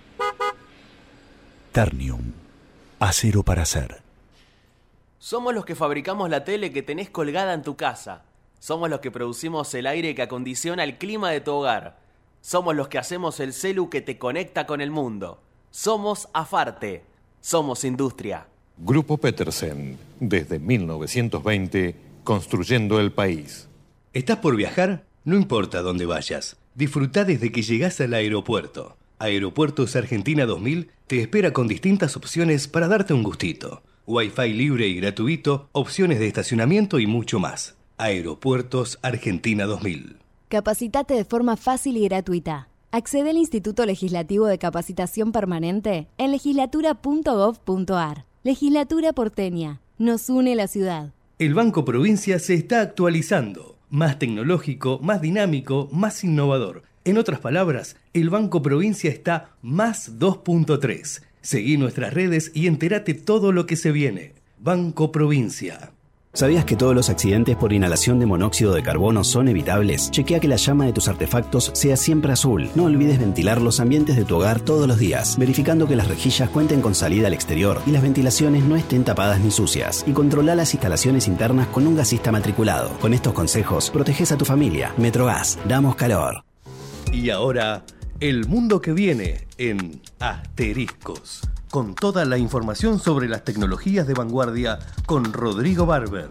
Ternium. Acero para hacer. Somos los que fabricamos la tele que tenés colgada en tu casa. Somos los que producimos el aire que acondiciona el clima de tu hogar. Somos los que hacemos el celu que te conecta con el mundo. Somos Afarte. Somos industria. Grupo Petersen. Desde mil novecientos veinte, construyendo el país. ¿Estás por viajar? No importa dónde vayas. Disfrutá desde que llegás al aeropuerto. Aeropuertos Argentina dos mil te espera con distintas opciones para darte un gustito. Wi-Fi libre y gratuito, opciones de estacionamiento y mucho más. Aeropuertos Argentina dos mil. Capacitate de forma fácil y gratuita. Accede al Instituto Legislativo de Capacitación Permanente en legislatura punto gov punto ar. Legislatura porteña. Nos une la ciudad. El Banco Provincia se está actualizando. Más tecnológico, más dinámico, más innovador. En otras palabras, el Banco Provincia está más dos punto tres. Seguí nuestras redes y entérate todo lo que se viene. Banco Provincia. ¿Sabías que todos los accidentes por inhalación de monóxido de carbono son evitables? Chequea que la llama de tus artefactos sea siempre azul. No olvides ventilar los ambientes de tu hogar todos los días, verificando que las rejillas cuenten con salida al exterior y las ventilaciones no estén tapadas ni sucias. Y controla las instalaciones internas con un gasista matriculado. Con estos consejos, proteges a tu familia. Metrogas, damos calor. Y ahora, el mundo que viene en Asteriscos. Con toda la información sobre las tecnologías de vanguardia con Rodrigo Barber.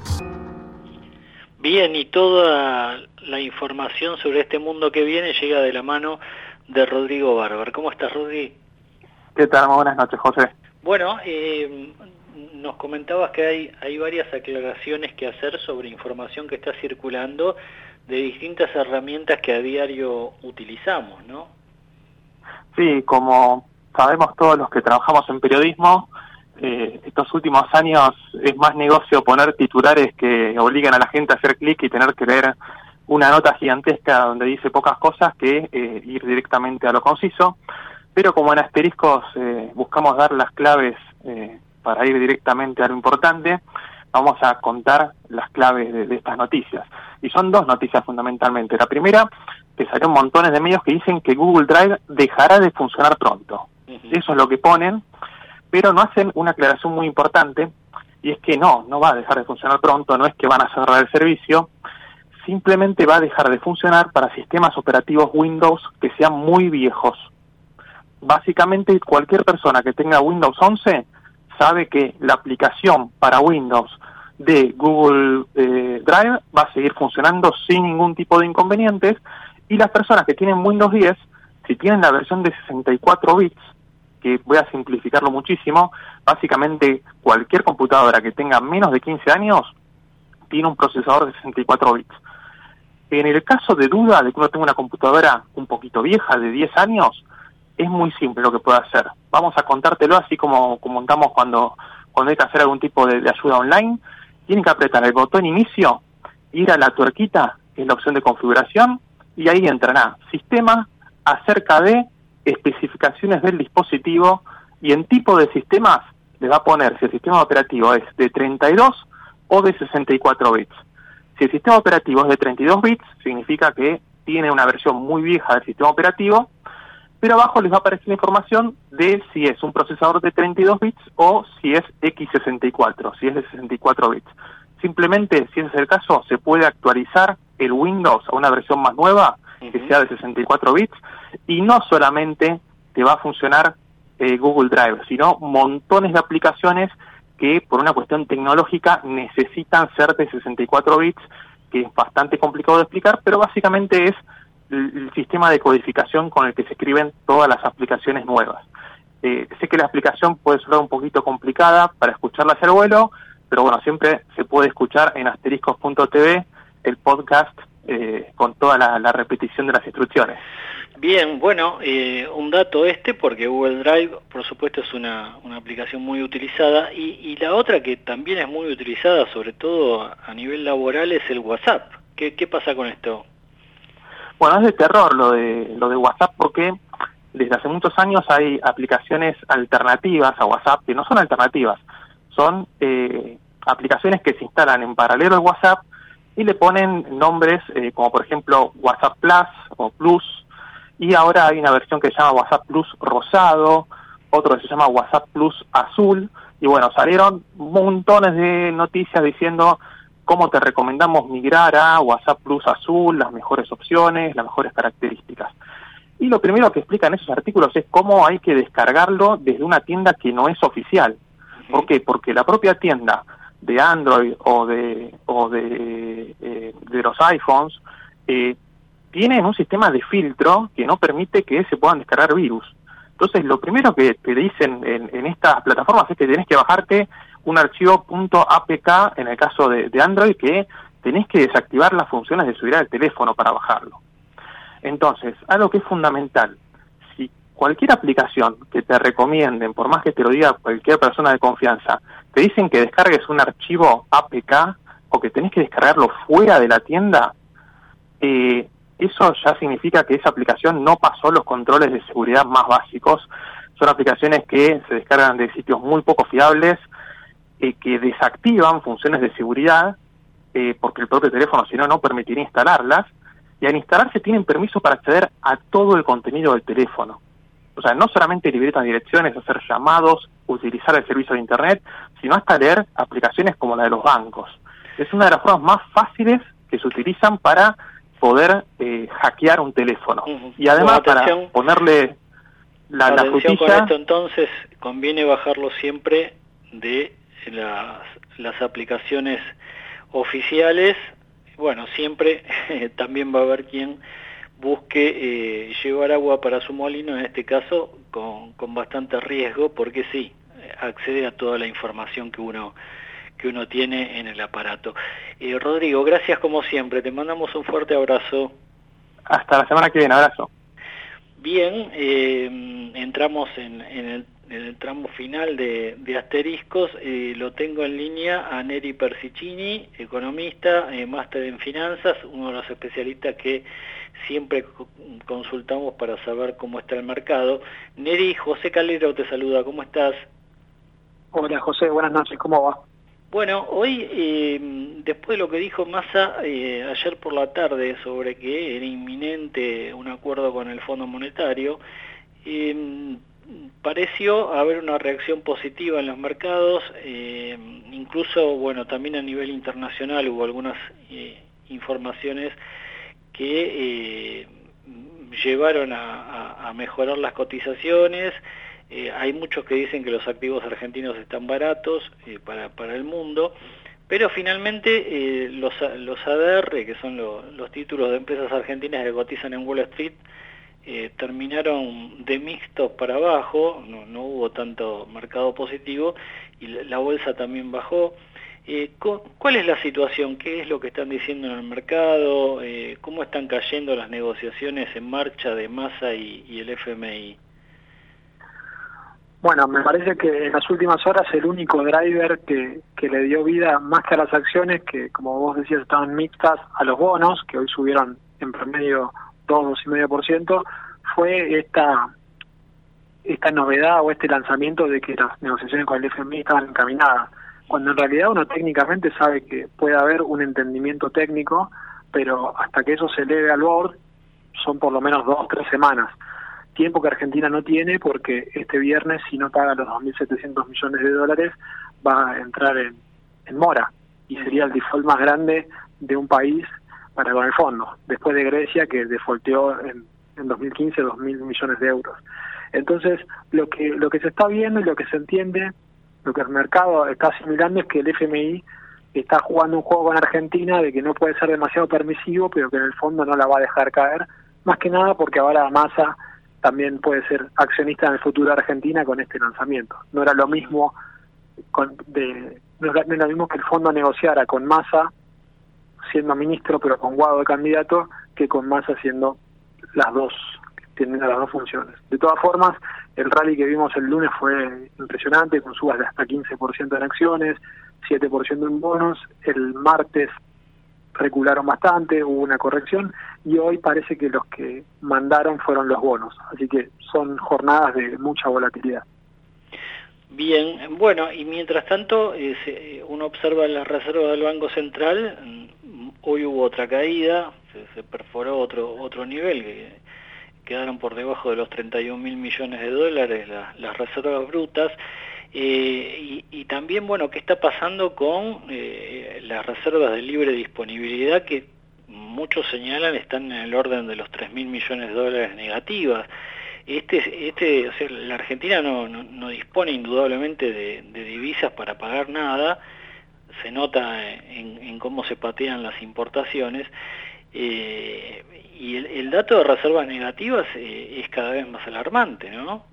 Bien, y toda la información sobre este mundo que viene llega de la mano de Rodrigo Barber. ¿Cómo estás, Rodri? ¿Qué tal? Muy buenas noches, José. Bueno, eh, nos comentabas que hay, hay varias aclaraciones que hacer sobre información que está circulando de distintas herramientas que a diario utilizamos, ¿no? Sí, como sabemos todos los que trabajamos en periodismo, eh, estos últimos años es más negocio poner titulares que obligan a la gente a hacer clic y tener que leer una nota gigantesca donde dice pocas cosas que eh, ir directamente a lo conciso. Pero como en Asteriscos eh, buscamos dar las claves eh, para ir directamente a lo importante, vamos a contar las claves de, de estas noticias. Y son dos noticias fundamentalmente. La primera, que salieron montones de medios que dicen que Google Drive dejará de funcionar pronto. Eso es lo que ponen, pero no hacen una aclaración muy importante, y es que no, no va a dejar de funcionar pronto, no es que van a cerrar el servicio, simplemente va a dejar de funcionar para sistemas operativos Windows que sean muy viejos. Básicamente, cualquier persona que tenga Windows once sabe que la aplicación para Windows de Google eh, Drive va a seguir funcionando sin ningún tipo de inconvenientes, y las personas que tienen Windows diez, si tienen la versión de sesenta y cuatro bits, que voy a simplificarlo muchísimo, básicamente cualquier computadora que tenga menos de quince años tiene un procesador de sesenta y cuatro bits. En el caso de duda de que uno tenga una computadora un poquito vieja, de diez años, es muy simple lo que puede hacer. Vamos a contártelo así como, como contamos cuando, cuando hay que hacer algún tipo de, de ayuda online. Tienen que apretar el botón inicio, ir a la tuerquita, que es la opción de configuración, y ahí entrará sistema acerca de especificaciones del dispositivo, y en tipo de sistemas le va a poner si el sistema operativo es de treinta y dos o de sesenta y cuatro bits. Si el sistema operativo es de treinta y dos bits, significa que tiene una versión muy vieja del sistema operativo, pero abajo les va a aparecer la información de si es un procesador de treinta y dos bits o si es equis sesenta y cuatro, si es de sesenta y cuatro bits. Simplemente, si ese es el caso, se puede actualizar el Windows a una versión más nueva, que sea de sesenta y cuatro bits, y no solamente te va a funcionar eh, Google Drive, sino montones de aplicaciones que por una cuestión tecnológica necesitan ser de sesenta y cuatro bits, que es bastante complicado de explicar, pero básicamente es el, el sistema de codificación con el que se escriben todas las aplicaciones nuevas. Eh, sé que la explicación puede sonar un poquito complicada para escucharla hacia el vuelo, pero bueno, siempre se puede escuchar en asteriscos punto t v el podcast eh, con toda la, la repetición de las instrucciones. Bien, bueno, eh, un dato este, porque Google Drive, por supuesto, es una, una aplicación muy utilizada, y, y la otra que también es muy utilizada, sobre todo a nivel laboral, es el WhatsApp. ¿Qué, qué pasa con esto? Bueno, es de terror lo de, lo de WhatsApp, porque desde hace muchos años hay aplicaciones alternativas a WhatsApp, que no son alternativas, son eh, aplicaciones que se instalan en paralelo al WhatsApp y le ponen nombres eh, como por ejemplo WhatsApp Plus o Plus, y ahora hay una versión que se llama WhatsApp Plus Rosado, otro que se llama WhatsApp Plus Azul, y bueno, salieron montones de noticias diciendo cómo te recomendamos migrar a WhatsApp Plus Azul, las mejores opciones, las mejores características. Y lo primero que explican esos artículos es cómo hay que descargarlo desde una tienda que no es oficial. ¿Por qué? Porque la propia tienda de Android o de o de, eh, de los iPhones eh, tienen un sistema de filtro que no permite que se puedan descargar virus. Entonces, lo primero que te dicen en, en estas plataformas es que tenés que bajarte un archivo .apk, en el caso de, de Android, que tenés que desactivar las funciones de subir al teléfono para bajarlo. Entonces, algo que es fundamental, si cualquier aplicación que te recomienden, por más que te lo diga cualquier persona de confianza, te dicen que descargues un archivo A P K o que tenés que descargarlo fuera de la tienda, eh, eso ya significa que esa aplicación no pasó los controles de seguridad más básicos. Son aplicaciones que se descargan de sitios muy poco fiables eh, que desactivan funciones de seguridad, eh, porque el propio teléfono si no no permitiría instalarlas, y al instalarse tienen permiso para acceder a todo el contenido del teléfono. O sea, no solamente libretas direcciones, hacer llamados, utilizar el servicio de internet, sino hasta leer aplicaciones como la de los bancos. Es una de las formas más fáciles que se utilizan para poder eh, hackear un teléfono. Uh-huh. Y además bueno, para ponerle la, la frutilla... Con esto entonces conviene bajarlo siempre de las, las aplicaciones oficiales. Bueno, siempre eh, también va a haber quien busque eh, llevar agua para su molino, en este caso con, con bastante riesgo, porque sí, accede a toda la información que uno que uno tiene en el aparato. Eh, Rodrigo, gracias como siempre, te mandamos un fuerte abrazo. Hasta la semana que viene, abrazo. Bien, eh, entramos en, en, el, en el tramo final de, de Asteriscos, eh, lo tengo en línea a Neri Persicini, economista, eh, máster en finanzas, uno de los especialistas que siempre consultamos para saber cómo está el mercado. Neri, José Calero te saluda, ¿cómo estás? Hola José, buenas noches, ¿cómo va? Bueno, hoy, eh, después de lo que dijo Massa eh, ayer por la tarde sobre que era inminente un acuerdo con el Fondo Monetario, eh, pareció haber una reacción positiva en los mercados, eh, incluso, bueno, también a nivel internacional hubo algunas eh, informaciones que eh, llevaron a, a, a mejorar las cotizaciones. Eh, hay muchos que dicen que los activos argentinos están baratos eh, para, para el mundo, pero finalmente eh, los, los A D R, que son lo, los títulos de empresas argentinas que cotizan en Wall Street, eh, terminaron de mixtos para abajo, no, no hubo tanto mercado positivo, y la, la bolsa también bajó. Eh, ¿Cuál es la situación? ¿Qué es lo que están diciendo en el mercado? Eh, ¿Cómo están cayendo las negociaciones en marcha de Massa y, y el F M I? Bueno, me parece que en las últimas horas el único driver que, que le dio vida más que a las acciones, que como vos decías estaban mixtas, a los bonos, que hoy subieron en promedio dos, dos coma cinco por ciento, fue esta esta novedad o este lanzamiento de que las negociaciones con el F M I estaban encaminadas, cuando en realidad uno técnicamente sabe que puede haber un entendimiento técnico, pero hasta que eso se eleve al board son por lo menos dos, tres semanas. Tiempo que Argentina no tiene, porque este viernes, si no paga los dos mil setecientos millones de dólares, va a entrar en, en mora, y sería el default más grande de un país para con el fondo, después de Grecia, que defaulteó en, en dos mil quince dos mil millones de euros. Entonces, lo que lo que se está viendo y lo que se entiende, lo que el mercado está asimilando, es que el F M I está jugando un juego con Argentina de que no puede ser demasiado permisivo, pero que en el fondo no la va a dejar caer, más que nada porque ahora Massa también puede ser accionista en el futuro de Argentina con este lanzamiento. No era lo mismo con, de, no era, no era lo mismo que el fondo negociara con Massa siendo ministro pero con Guado de candidato, que con Massa siendo las dos, teniendo las dos funciones. De todas formas, el rally que vimos el lunes fue impresionante, con subas de hasta quince por ciento en acciones, siete por ciento en bonos. El martes recularon bastante, hubo una corrección, y hoy parece que los que mandaron fueron los bonos, así que son jornadas de mucha volatilidad. Bien, bueno, y mientras tanto eh, se, uno observa las reservas del Banco Central, hoy hubo otra caída, se, se perforó otro otro nivel, que quedaron por debajo de los treinta y un mil millones de dólares la, las reservas brutas. Eh, y, y también, bueno, ¿qué está pasando con eh, las reservas de libre disponibilidad, que muchos señalan están en el orden de los tres mil millones de dólares negativas? Este, este, o sea, la Argentina no, no, no dispone indudablemente de, de divisas para pagar nada, se nota en, en cómo se patean las importaciones, eh, y el, el dato de reservas negativas eh, es cada vez más alarmante, ¿no?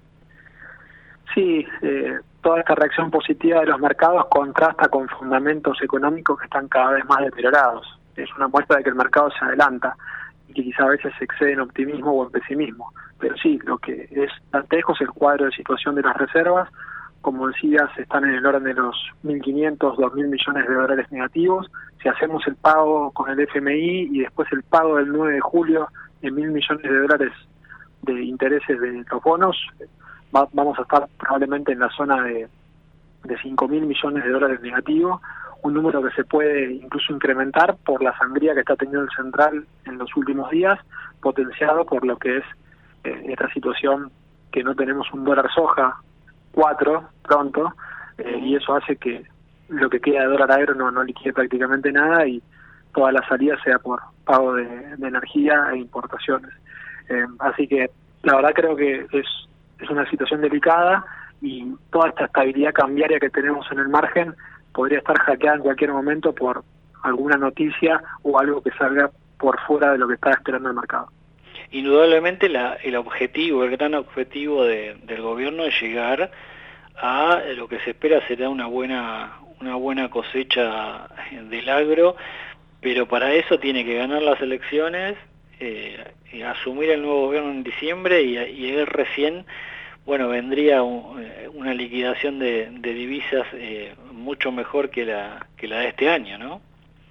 Sí, eh, toda esta reacción positiva de los mercados contrasta con fundamentos económicos que están cada vez más deteriorados. Es una muestra de que el mercado se adelanta y que quizá a veces se excede en optimismo o en pesimismo. Pero sí, lo que es dantesco es el cuadro de situación de las reservas. Como decías, están en el orden de los mil quinientos, dos mil millones de dólares negativos. Si hacemos el pago con el F M I y después el pago del nueve de julio de mil millones de dólares de intereses de los bonos, va, vamos a estar probablemente en la zona de, de cinco mil millones de dólares negativo, un número que se puede incluso incrementar por la sangría que está teniendo el Central en los últimos días, potenciado por lo que es eh, esta situación que no tenemos un dólar soja cuatro pronto, eh, y eso hace que lo que queda de dólar a euro no, no liquide prácticamente nada y toda la salida sea por pago de, de energía e importaciones. Eh, así que la verdad creo que es, es una situación delicada y toda esta estabilidad cambiaria que tenemos en el margen podría estar hackeada en cualquier momento por alguna noticia o algo que salga por fuera de lo que está esperando el mercado. Indudablemente la, el objetivo, el gran objetivo de, del gobierno es llegar a lo que se espera será una buena una buena cosecha del agro, pero para eso tiene que ganar las elecciones, eh, asumir el nuevo gobierno en diciembre y, y él recién, bueno, vendría un, una liquidación de, de divisas eh, mucho mejor que la que la de este año, ¿no?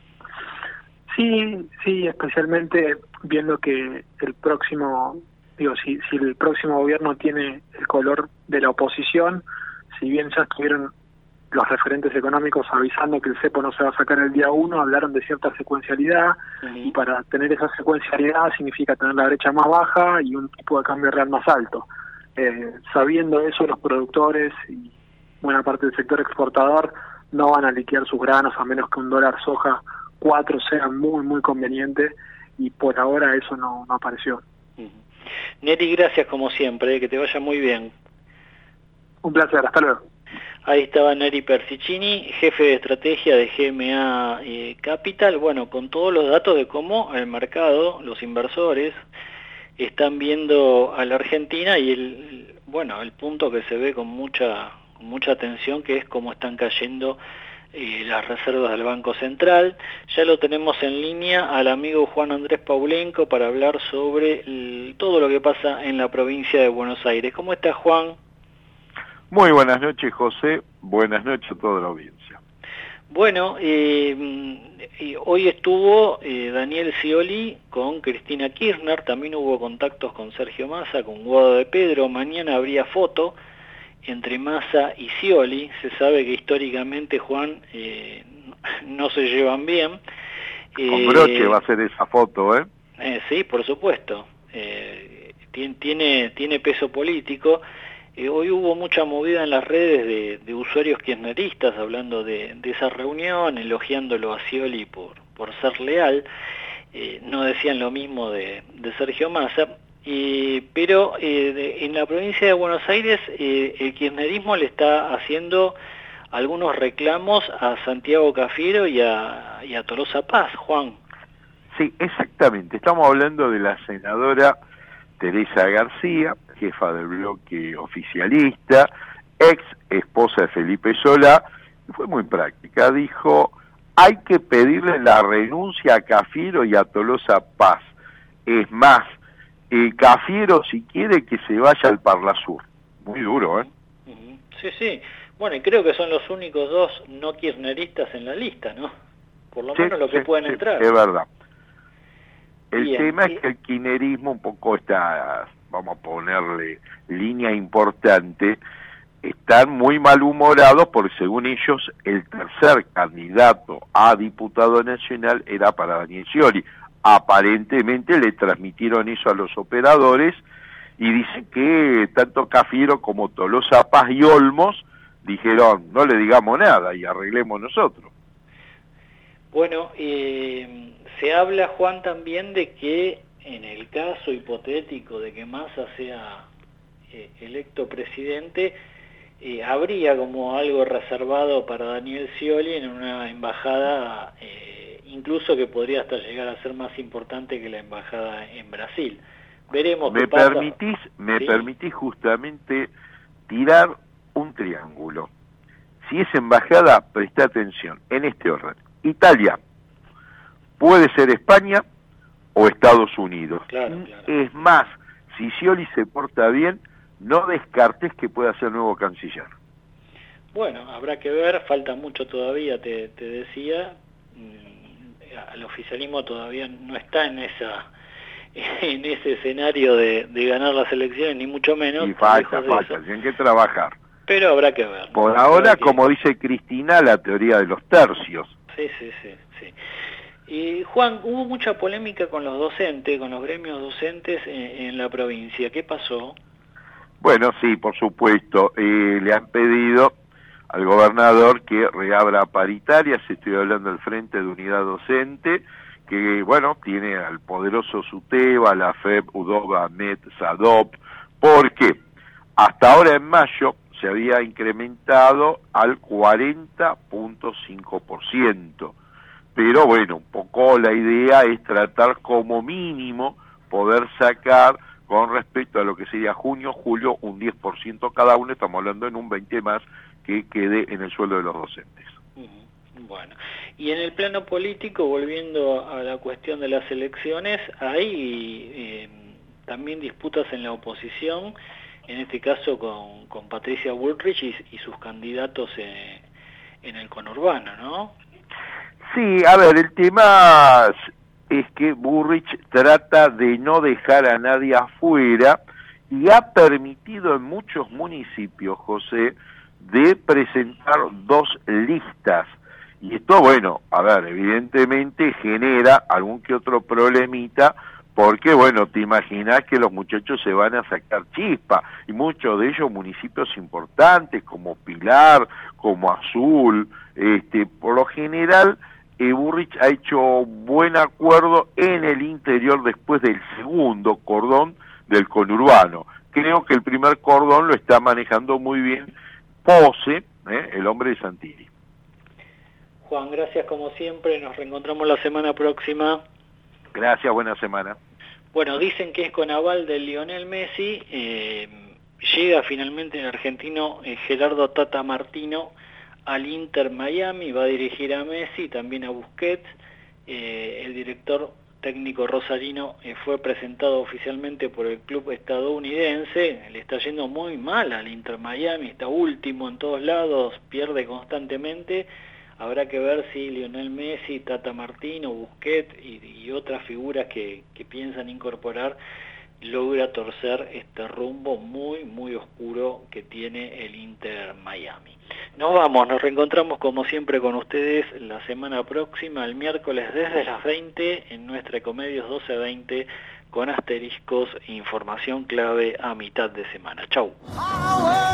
Sí, sí, especialmente viendo que el próximo, digo, si, si el próximo gobierno tiene el color de la oposición, si bien ya estuvieron los referentes económicos avisando que el cepo no se va a sacar el día uno, hablaron de cierta secuencialidad, uh-huh. y para tener esa secuencialidad significa tener la brecha más baja y un tipo de cambio real más alto. Eh, sabiendo eso, los productores y buena parte del sector exportador no van a liquidar sus granos a menos que un dólar soja cuatro sea muy, muy conveniente, y por ahora eso no, no apareció. Uh-huh. Neri, gracias como siempre, que te vaya muy bien. Un placer, hasta luego. Ahí estaba Neri Persicini, jefe de estrategia de G M A eh, Capital, bueno, con todos los datos de cómo el mercado, los inversores, están viendo a la Argentina y el, bueno, el punto que se ve con mucha, con mucha atención, que es cómo están cayendo eh, las reservas del Banco Central. Ya lo tenemos en línea al amigo Juan Andrés Paulenco para hablar sobre el, todo lo que pasa en la provincia de Buenos Aires. ¿Cómo está, Juan? Muy buenas noches, José. Buenas noches a toda la audiencia. Bueno, eh, eh, hoy estuvo eh, Daniel Scioli con Cristina Kirchner, también hubo contactos con Sergio Massa, con Guado de Pedro, mañana habría foto entre Massa y Scioli. Se sabe que históricamente, Juan, eh, no se llevan bien. Con broche va a ser esa foto, ¿eh? eh sí, por supuesto. Eh, tiene, tiene peso político. Eh, hoy hubo mucha movida en las redes de, de usuarios kirchneristas hablando de, de esa reunión, elogiándolo a Scioli por, por ser leal. Eh, no decían lo mismo de, de Sergio Massa, eh, pero eh, de, en la provincia de Buenos Aires eh, el kirchnerismo le está haciendo algunos reclamos a Santiago Cafiero y a, y a Tolosa Paz, Juan. Sí, exactamente. Estamos hablando de la senadora Teresa García, jefa del bloque oficialista, ex esposa de Felipe Solá, y fue muy práctica. Dijo, hay que pedirle la renuncia a Cafiero y a Tolosa Paz. Es más, eh, Cafiero si quiere que se vaya al Parlasur. Muy duro, ¿eh? Uh-huh. Sí, sí. Bueno, y creo que son los únicos dos no kirchneristas en la lista, ¿no? Por lo sí, menos lo que sí, pueden sí, entrar. Es verdad. El Bien, tema y... es que el kirchnerismo un poco está, vamos a ponerle línea importante, están muy malhumorados porque según ellos el tercer candidato a diputado nacional era para Daniel Scioli. Aparentemente le transmitieron eso a los operadores y dicen que tanto Cafiero como Tolosa Paz y Olmos dijeron no le digamos nada y arreglemos nosotros. Bueno, eh, se habla, Juan, también de que en el caso hipotético de que Massa sea eh, electo presidente, eh, habría como algo reservado para Daniel Scioli en una embajada, eh, incluso que podría hasta llegar a ser más importante que la embajada en Brasil. Veremos qué me pasa. permitís, me ¿Sí? permitís justamente tirar un triángulo. Si es embajada, presta atención, en este orden. Italia, puede ser España o Estados Unidos. Claro, claro. Es más, si Scioli se porta bien, no descartes que pueda ser nuevo canciller. Bueno, habrá que ver, falta mucho todavía, te, te decía, el oficialismo todavía no está en esa en ese escenario de, de ganar las elecciones, ni mucho menos. Y falta, falta, tienen que trabajar. Pero habrá que ver. Por ahora, como dice Cristina, la teoría de los tercios. Sí, sí, sí, sí. Y Juan, hubo mucha polémica con los docentes, con los gremios docentes en, en la provincia. ¿Qué pasó? Bueno, sí, por supuesto. Eh, le han pedido al gobernador que reabra paritarias, estoy hablando del Frente de Unidad Docente, que, bueno, tiene al poderoso SUTEBA, la F E P, UDOBA, M E T, SADOP, porque hasta ahora en mayo se había incrementado al cuarenta punto cinco por ciento. Pero bueno, un poco la idea es tratar como mínimo poder sacar con respecto a lo que sería junio, julio, un diez por ciento cada uno, estamos hablando en un veinte más que quede en el sueldo de los docentes. Bueno, y en el plano político, volviendo a la cuestión de las elecciones, hay eh, también disputas en la oposición, en este caso con, con Patricia Bullrich y, y sus candidatos en, en el conurbano, ¿no? Sí, a ver, el tema es que Bullrich trata de no dejar a nadie afuera y ha permitido en muchos municipios, José, de presentar dos listas. Y esto, bueno, a ver, evidentemente genera algún que otro problemita, porque, bueno, te imaginas que los muchachos se van a sacar chispa, y muchos de ellos municipios importantes, como Pilar, como Azul, este, por lo general, eh, Bullrich ha hecho buen acuerdo en el interior después del segundo cordón del conurbano. Creo que el primer cordón lo está manejando muy bien Pose, ¿eh? el hombre de Santilli. Juan, gracias como siempre, nos reencontramos la semana próxima. Gracias, buena semana. Bueno, dicen que es con aval de Lionel Messi, eh, llega finalmente el argentino eh, Gerardo Tata Martino al Inter Miami, va a dirigir a Messi, también a Busquets, eh, el director técnico rosarino eh, fue presentado oficialmente por el club estadounidense, le está yendo muy mal al Inter Miami, está último en todos lados, pierde constantemente. Habrá que ver si Lionel Messi, Tata Martino, Busquets y, y otras figuras que, que piensan incorporar logra torcer este rumbo muy, muy oscuro que tiene el Inter Miami. Nos vamos, nos reencontramos como siempre con ustedes la semana próxima, el miércoles desde las veinte en nuestra Ecomedios doce veinte con asteriscos e información clave a mitad de semana. Chau.